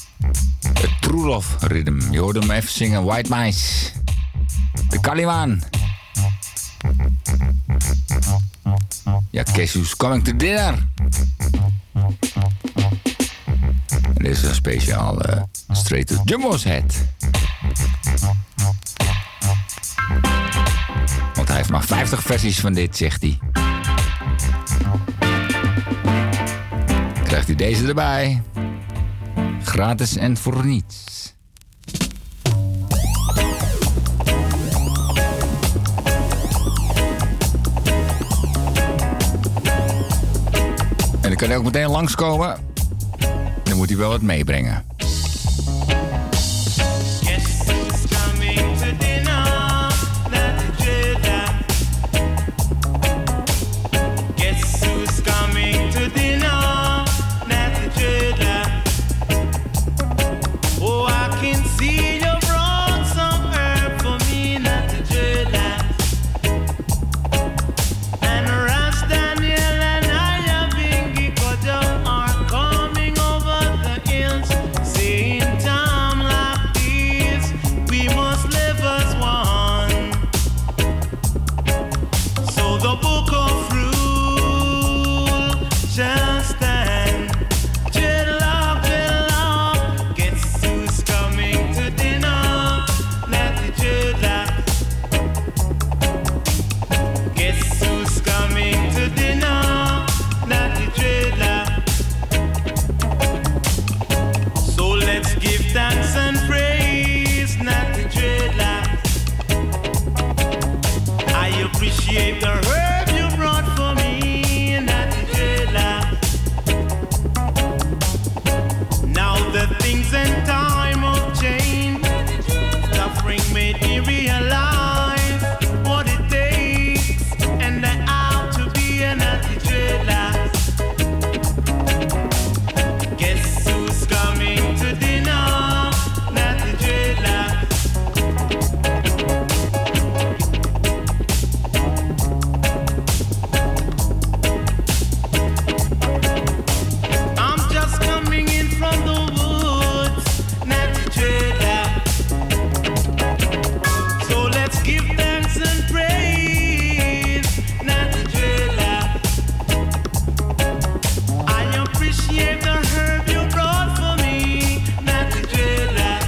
Het Trulov Rhythm. Je hoorde hem even zingen. White Mice. De Kalimaan. Ja, Guess Who's Coming to Dinner. En dit is een speciaal uh, Straight to Jumbo's Head. Want hij heeft maar vijftig versies van dit, zegt hij. Krijgt u deze erbij. Gratis en voor niets. En dan kan hij ook meteen langskomen. Dan moet hij wel wat meebrengen. Yes, it's coming to dinner. appreciate the herb you brought for me, Natty Dreadlock. Now the things and time have changed. Suffering made me realize what it takes, and I have to be a Natty Dreadlock. Guess who's coming to dinner? Natty Dreadlock. I'm just coming in from the woods, Natty Dreadlock. So let's give thanks and praise, Natty Dreadlock. I appreciate the herb you brought for me, Natty Dreadlock.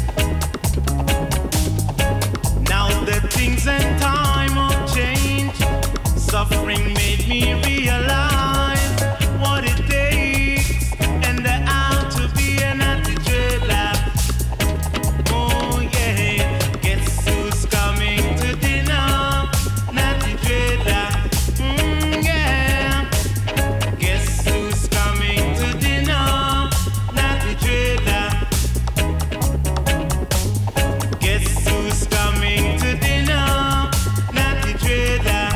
Now that things and time have changed, suffering made me realize what it takes, and I have to be a Natty Dreadlock. Oh yeah, guess who's coming to dinner? Natty Dreadlock. Mm, yeah. Guess who's coming to dinner? Natty Dreadlock. Guess who's coming to dinner? Natty Dreadlock.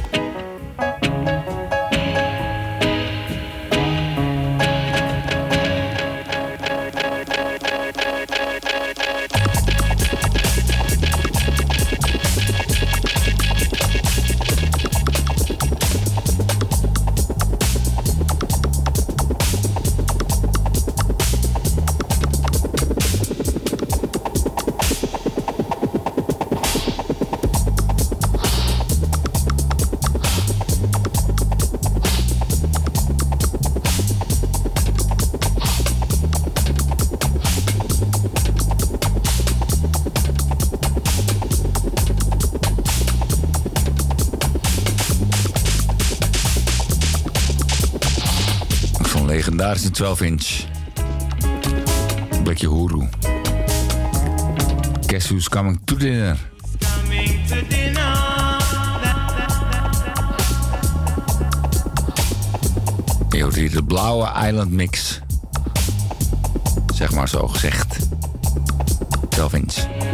Zo'n legendarische twaalf inch. Blikje Hoeroe. Guess who's coming to dinner? Coming to dinner. Je hoort hier de blauwe Island Mix. Zeg maar zo gezegd. twaalf inch.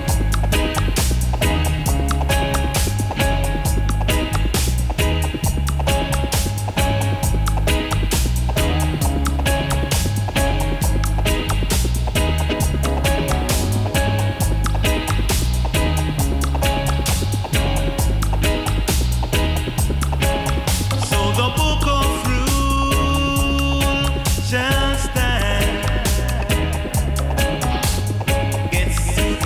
So the book of rule shall stand. Guess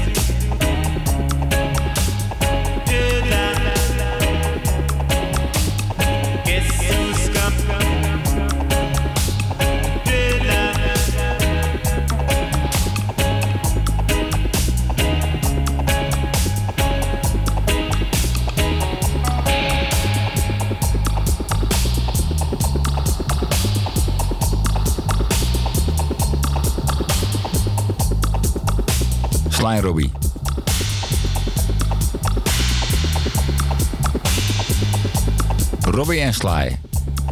Guess who's coming? Sly en Robbie. Robbie en Sly.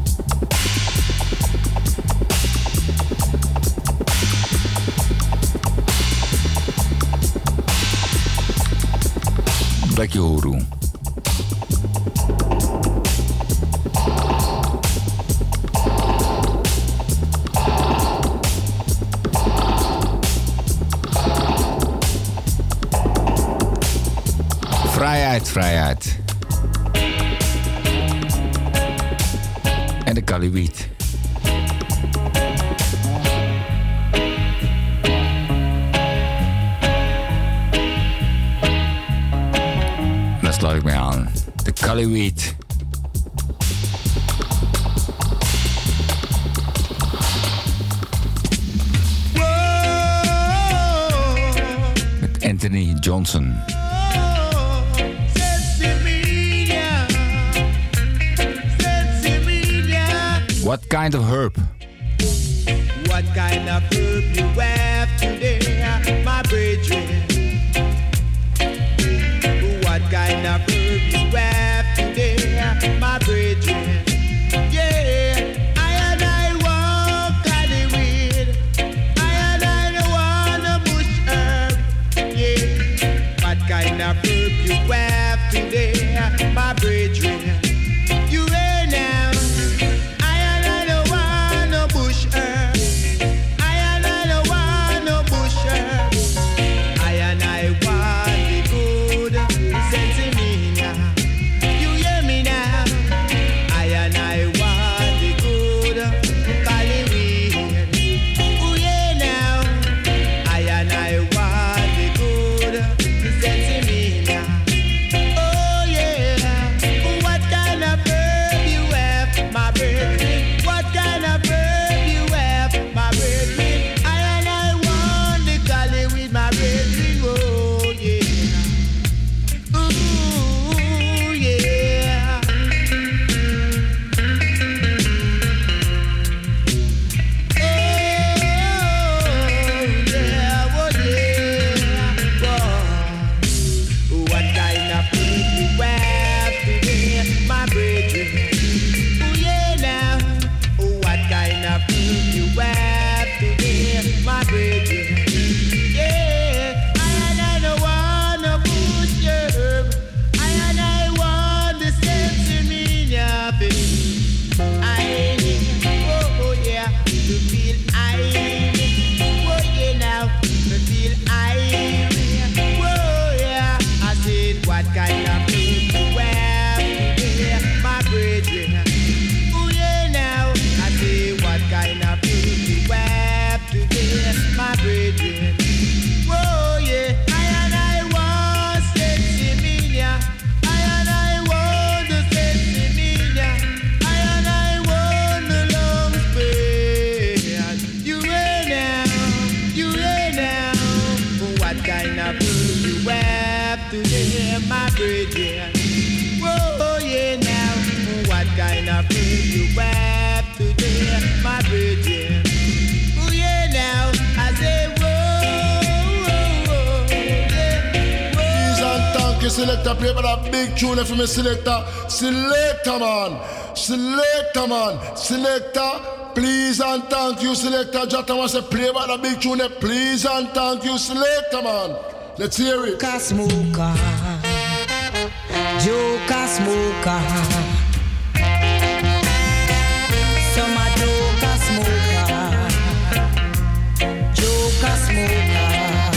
Blikje Hoeroe. Vrijheid, vrijheid. En de Kaliwiet. Daar sluit ik mee aan. De Kaliwiet. Met Anthony Johnson. What kind of herb? What kind of herb you have today, my brethren? What kind of herb you have today? you have today, my brethren. Oh yeah, now I say whoa, yeah, whoa. Please and thank you, selector. Play for that big tune for me, selector. Selector, man. Selector, man. Selector. Please and thank you, selector. Jota wants to play by the big tune. Please and thank you, selector, man. Let's hear it. Joker smoker, Joker smoker. Some a Joker smoker, Joker smoker,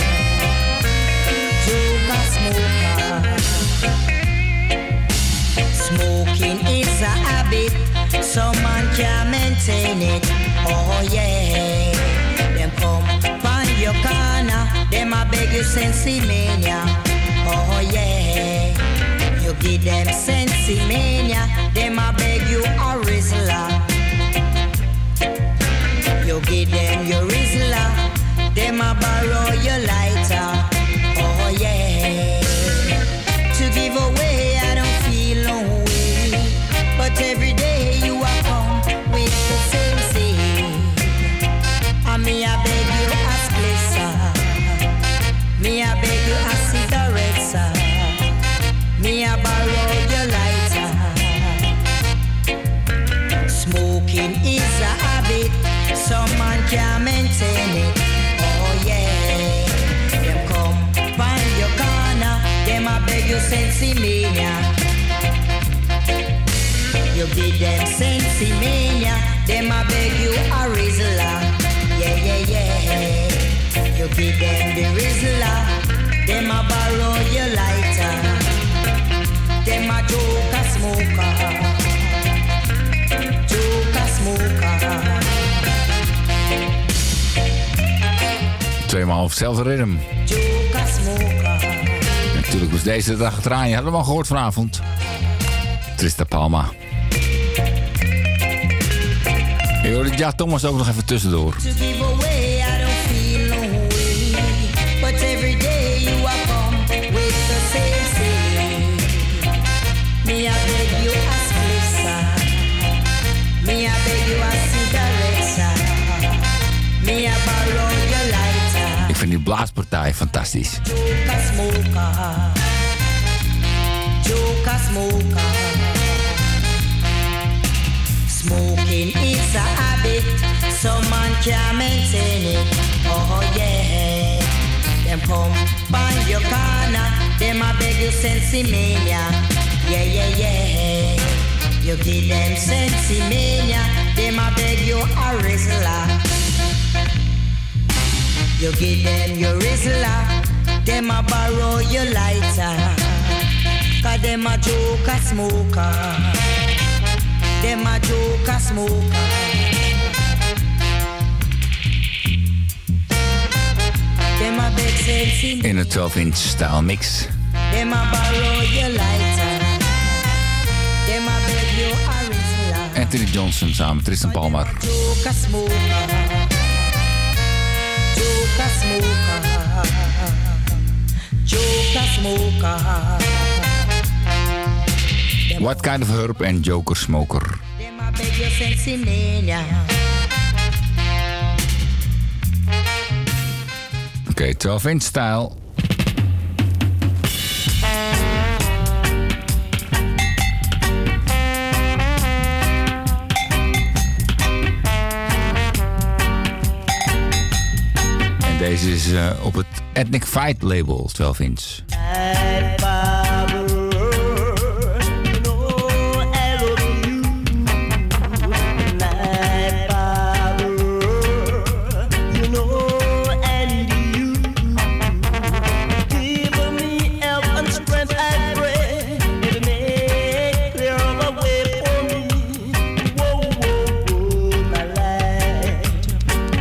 Joker smoker. Smoking is a habit, some man can't maintain it. Oh yeah, them come find your corner, them a beg you sensi mania. Oh yeah, you give them sensi mania, them a beg you a Rizla. You give them your Rizla, them a borrow your lighter. Oh yeah, to give away I don't feel no way, but every day you are come with the same thing. And me I beg you a splitter, me I beg you a cigarette, sir. Me I borrow your lighter. Smoking is a habit, some man can't maintain it. Oh yeah, them come find your corner, them I beg you sensi mania. You give them sensi mania, them I beg you a Rizla. Yeah, yeah, yeah. You give them the Rizla, them a borrow your lighter. Them a Joker smoker, Joker smoker. Tweemaal op hetzelfde ritme. Joker smoker. Natuurlijk was deze de dag achteraan. Je had hem al gehoord vanavond. Trista Palma. Je hoorde ja Thomas ook nog even tussendoor. To give away, I don't feel no way. But every day you are come with the same thing. Me I beg you a splitter, me I beg you a cigarette, me I borrow your lighter. Ik vind die blaaspartij fantastisch. Joker smoker, Joker smoker. Smoking is a habit, some man can't maintain it. Oh yeah, them come find your corner, them a beg you sensi mania. Yeah, yeah, yeah. You give them sensi mania, them a beg you a Rizla. You give them your Rizla, them a borrow your lighter. Cause them a Joker smoker, them a Joker smoker. Them a beg sensi In een twaalf inch style mix. them a borrow your lighter. Them a beg you a Rizla. Anthony Johnson samen met Tristan Palmer. Joker smoker, Joker smoker, Joker smoker. What kind of herb en Joker smoker. Them a beg you sensi mania. Oké, okay, twaalf inch style. En deze is uh, op het Ethnic Fight label, twaalf inch.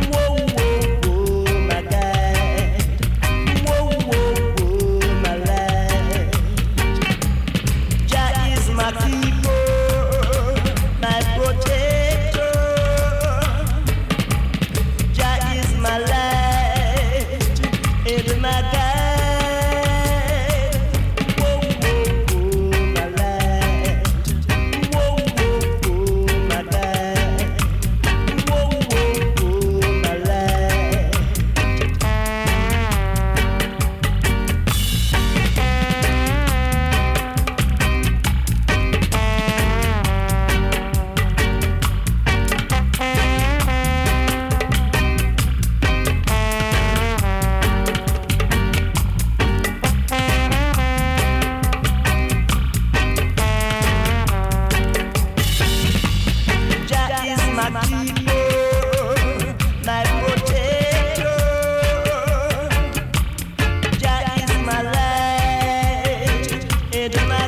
My keeper, my protector. Jah is my light and my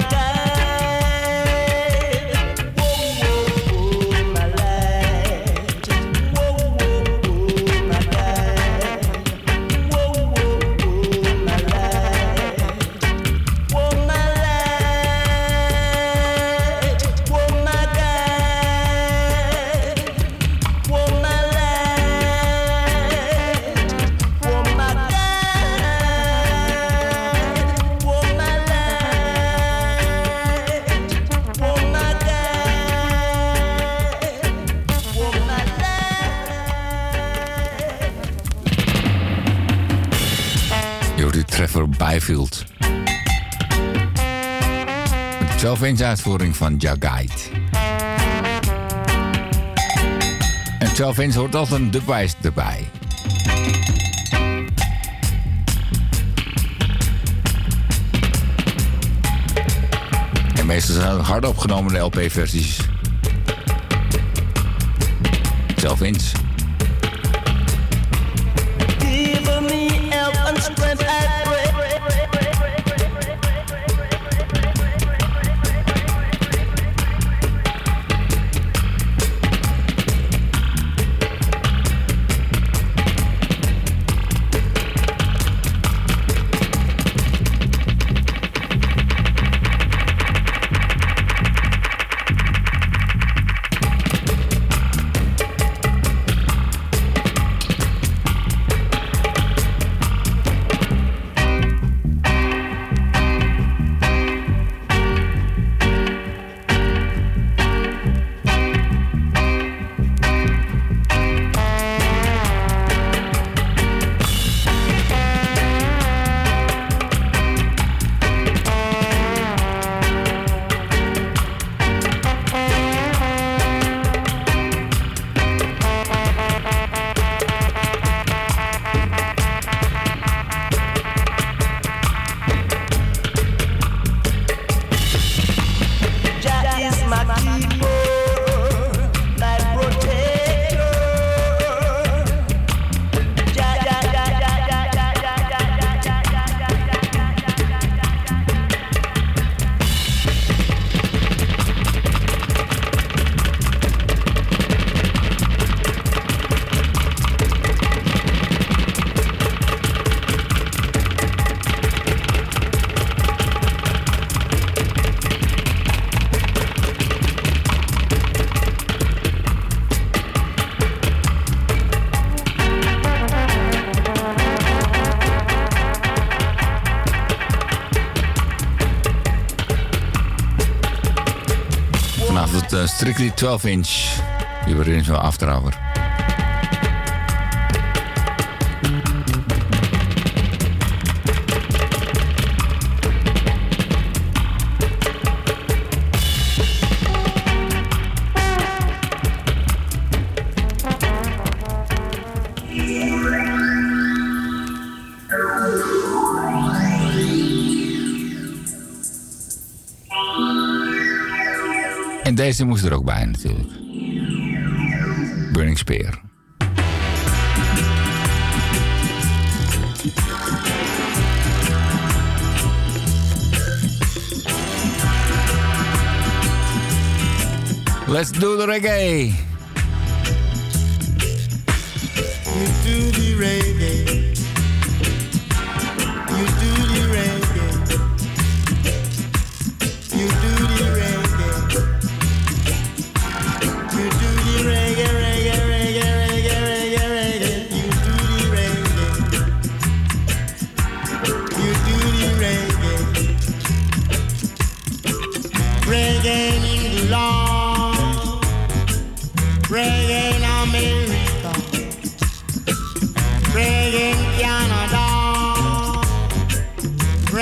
guide. Whoa, whoa, whoa, my light. Whoa, whoa, whoa, my guide. Whoa, whoa, whoa, my light. Whoa, my light. Whoa, my guide. Whoa, my light. Whoa, my guide. Whoa, my light. Whoa, my guide. Whoa, my Je hoort die Trevor Byfield. Met de twaalf inch uitvoering van Ja Guide. En twaalf inch hoort altijd een dubwijs erbij. En meestal zijn het hard opgenomen L P-versies. twaalf inch. Give me help and strength, I pray. Jah is my keeper, my protector. Jah, Jah, Jah, Jah, Jah, Jah, Jah, Jah, Jah, Jah, Vanaf het uh, Strictly twaalf inch. Die we erin zo aftrappen. En deze moest er ook bij natuurlijk. Burning Spear. Let's do the reggae. You do the reggae. You do the reggae. You do the reggae. You do the reggae, reggae, reggae, reggae, reggae, reggae. You do the reggae. You do the reggae. Reggae in England. Reggae in America. Reggae in Canada.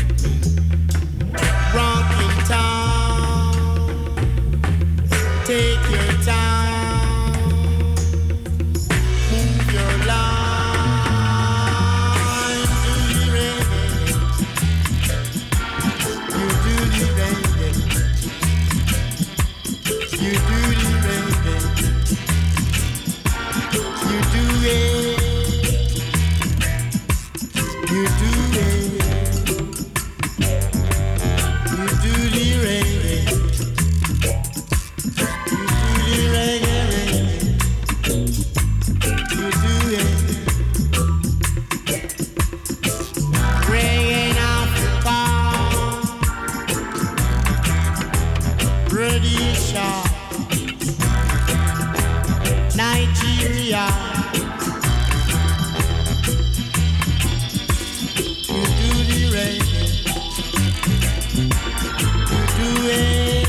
Rocking town, take your time, move your line, do the reggae, you do the reggae, you do the reggae, you do it, you do it. Nigeria, you do the reggae, you do it,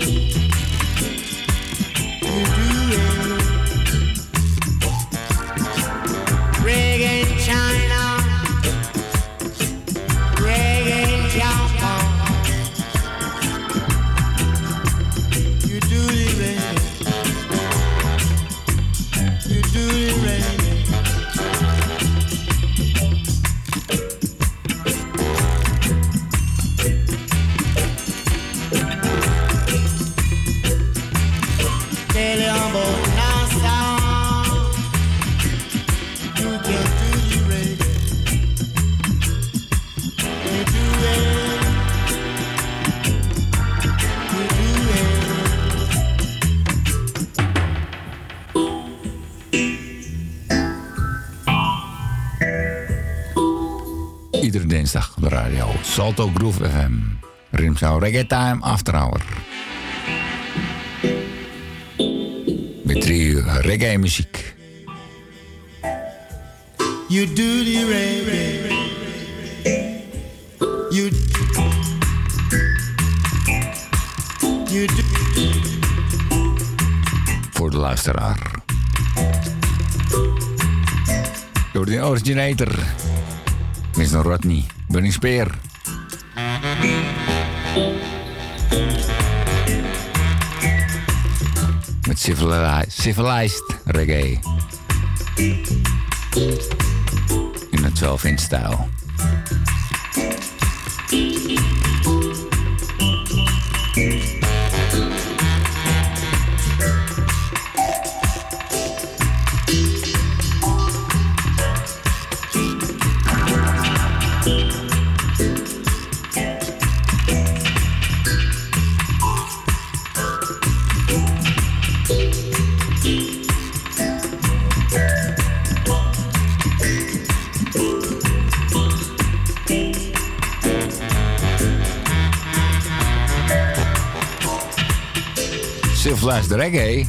you do it. Reggae in China, reggae in Japan, you do the reggae. Do the reggae. Tell you about Nasa. You can do the reggae. You do it. You do it. Iedere dinsdag op de radio. Salto Groove F M. Rimshow Reggae Time After Hour. Met drie uur reggae muziek. You do the reggae. You You do. Voor de luisteraar. Door de originator. mister Rodney, Burning Spear. Met civilized, civilized reggae. In een twaalf inch stijl. Civilized reggae.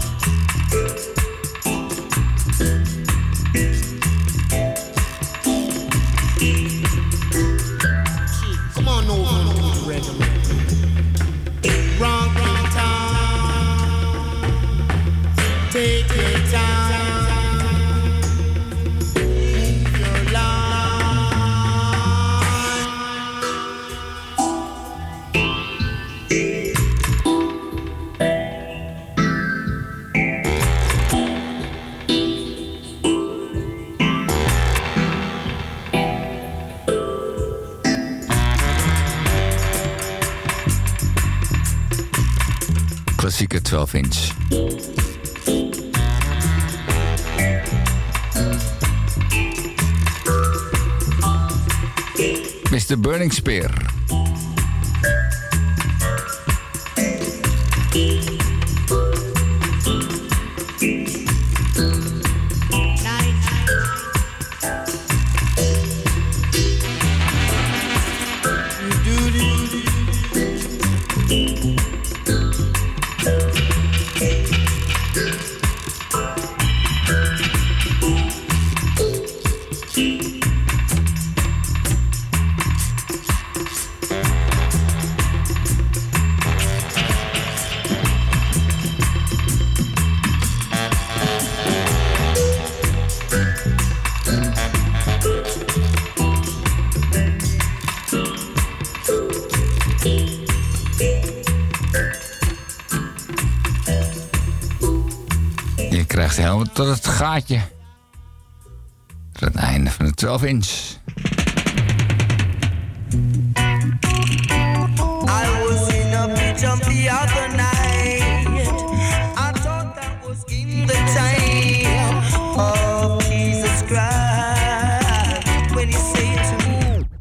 Come on over, reggae. Rock in town, take your time, move your line. Klassieke twaalf inch. mister Burning Spear. Wacht helemaal tot het gaatje. Tot het einde van de twaalf inch. I was in a beach jump the other night. I thought that was in the time of Jesus Christ when he said to me.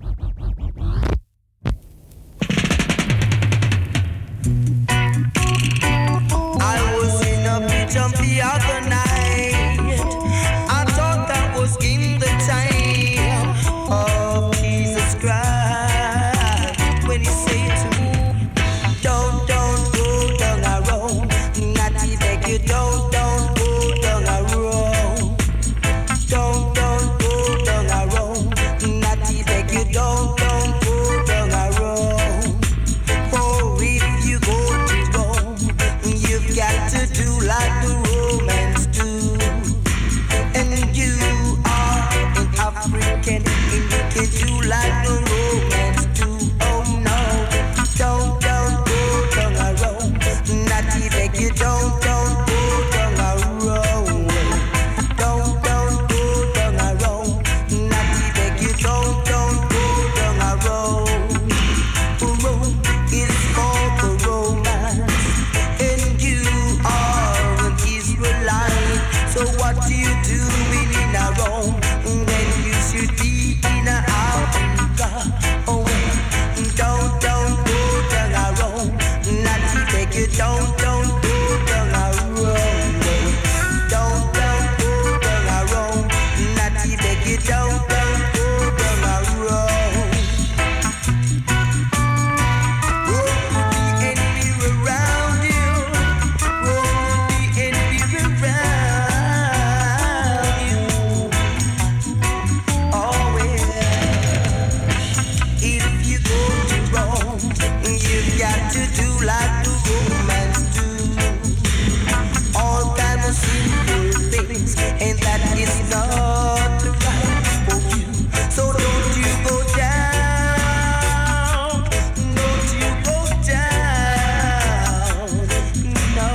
I was in a beach jump the other night. I thought that was in the time of Jesus Christ when he said to me, don't, don't go down a road. Natty beg you, don't, don't go down a road. Don't, don't go down a road. Natty beg you, don't, don't go down a road. For if you go to Rome, you've got to do like the Romans do. And you are an African, and you can do like the Romans do. Oh no, don't, don't go down a road. Natty beg you, don't, don't go down a road. Don't, don't go down a road. Natty beg you, don't, don't go down a road. Rome is for the Romans, and you are an Israelite. So what do you do in a Rome when you should be in a Africa? Oh, don't, don't go down a road. Natty beg you, don't, don't go down a road. Don't, don't go down a road. Natty beg you, don't, don't go down a road. Road the enemy around you. Road the enemy around you. Oh well, if you go to Rome, you've got to do like the Romans do. All kinds of simple things, and that is not right for you. So don't you go down, don't you go down, no.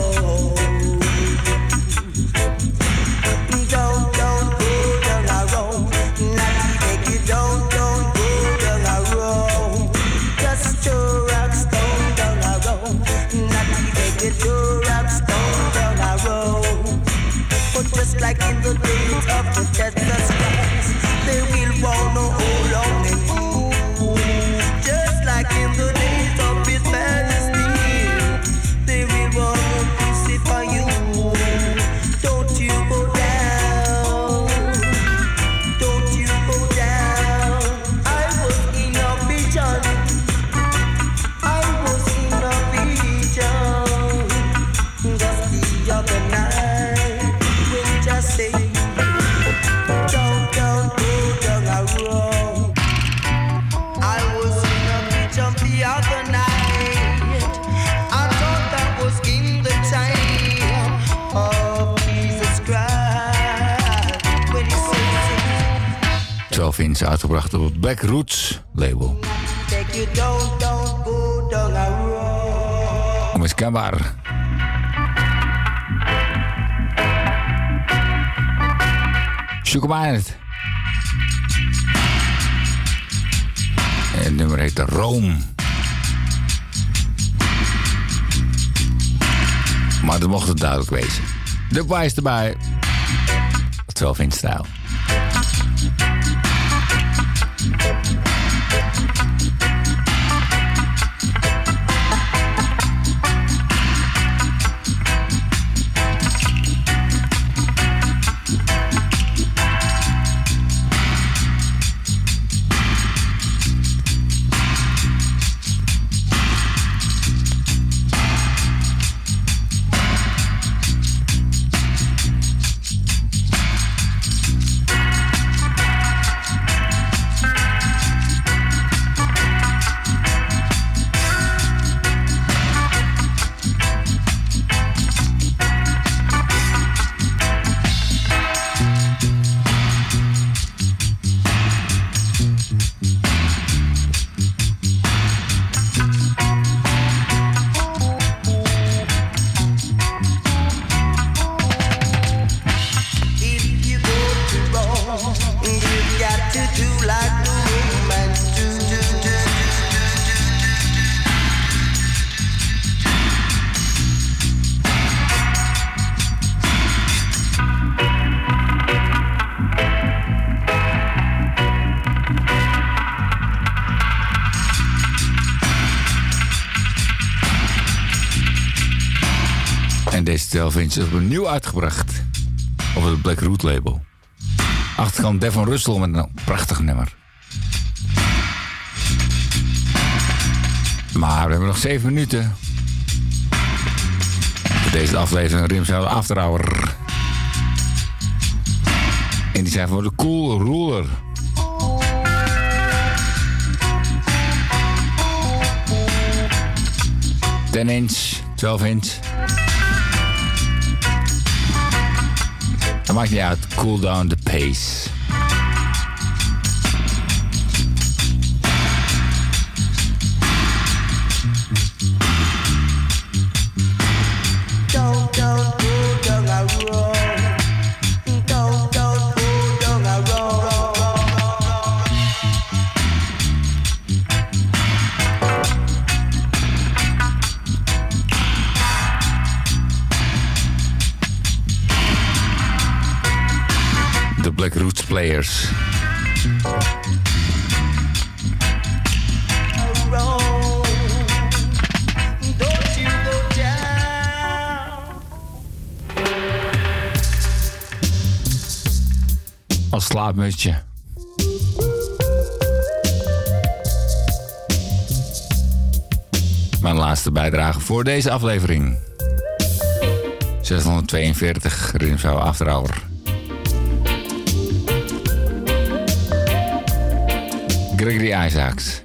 Don't, don't go down a road. Natty beg you, don't, don't go down a road. Just throw rock stone down a road. Natty beg you, throw rock stone down a road. But just like in the days of the Jesus Christ, they will want no hold on and move. Just like in the days of his majesty, they will want to crucify you. Don't you go down, don't you go down. I was in a vision, I was in a vision just the other night when just say, don't, don't go down a road. I was in a vision the other night. I thought that was in the time of Jesus Christ when he said, twaalf inch uitgebracht op het Black Roots label. beg you, don't, don't go down a road. Onmiskenbaar. Zoek hem uit. En het nummer heet Rome. Maar dat mocht het duidelijk wezen. De wijs erbij. twaalf inch stijl. En deze twaalf inch is opnieuw uitgebracht op het Black Root label. Achterkant Devon Russell met een prachtig nummer. Maar we hebben nog zeven minuten. Voor deze aflevering Rimshout After Hour. En die zijn voor de Cool Ruler. ten inch, twaalf inch. Dat maakt niet uit. Cool down the pace. Don't, don't go down a road. Don't, don't go down a road. The Black Roots Players. Als slaapmutsje. Mijn laatste bijdrage voor deze aflevering. zeshonderdtweeënveertig Rimshout After Hour. Gregory Isaacs.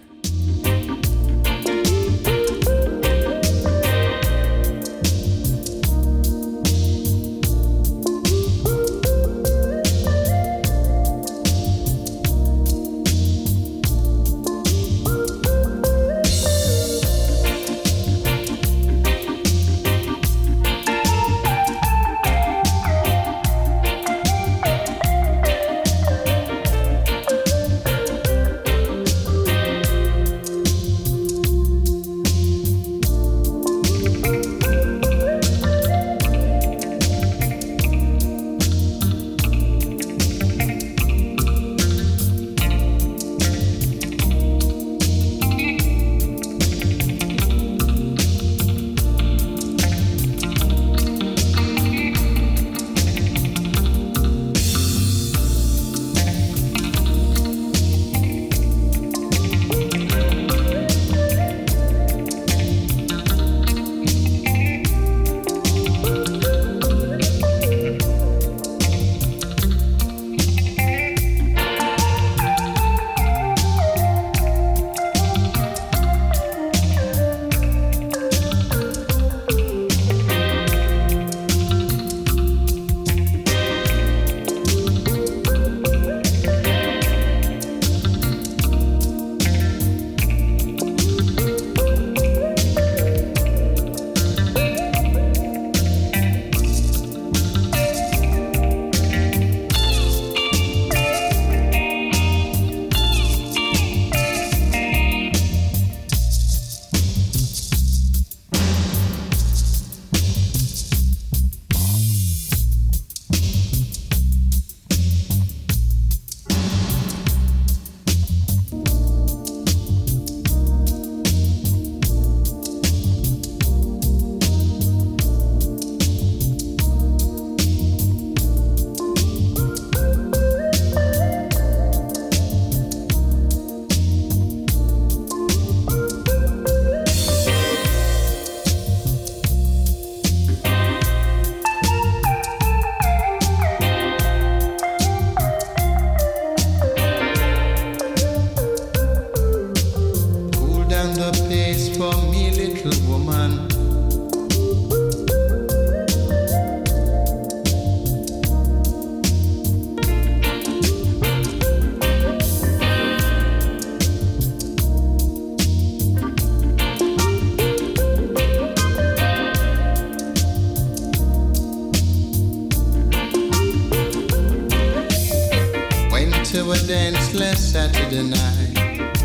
to a dance last Saturday night.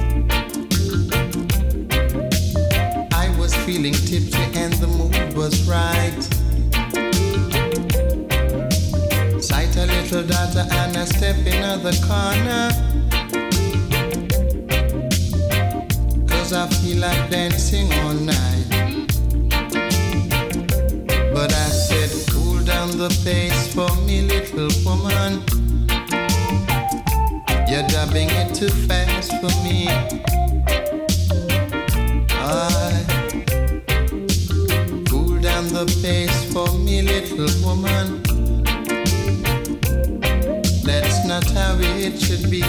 I was feeling tipsy and the mood was right. Sight a little daughter and I step in the corner, 'cause I feel like dancing all night. But I the pace for me, little woman. You're dubbing it too fast for me. I cool down the pace for me, little woman. That's not how it should be.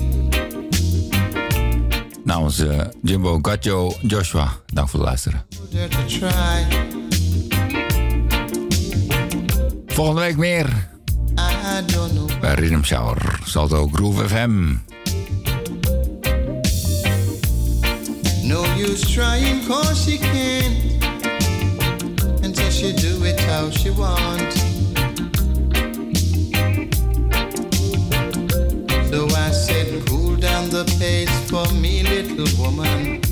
Namens uh, Jimbo, Gatjo, Joshua, dank voor het luisteren. Volgende week meer bij Rhythm Shower, Salto Groove F M. No use trying cause she can, until she do it how she want. So I said cool down the pace for me, little woman.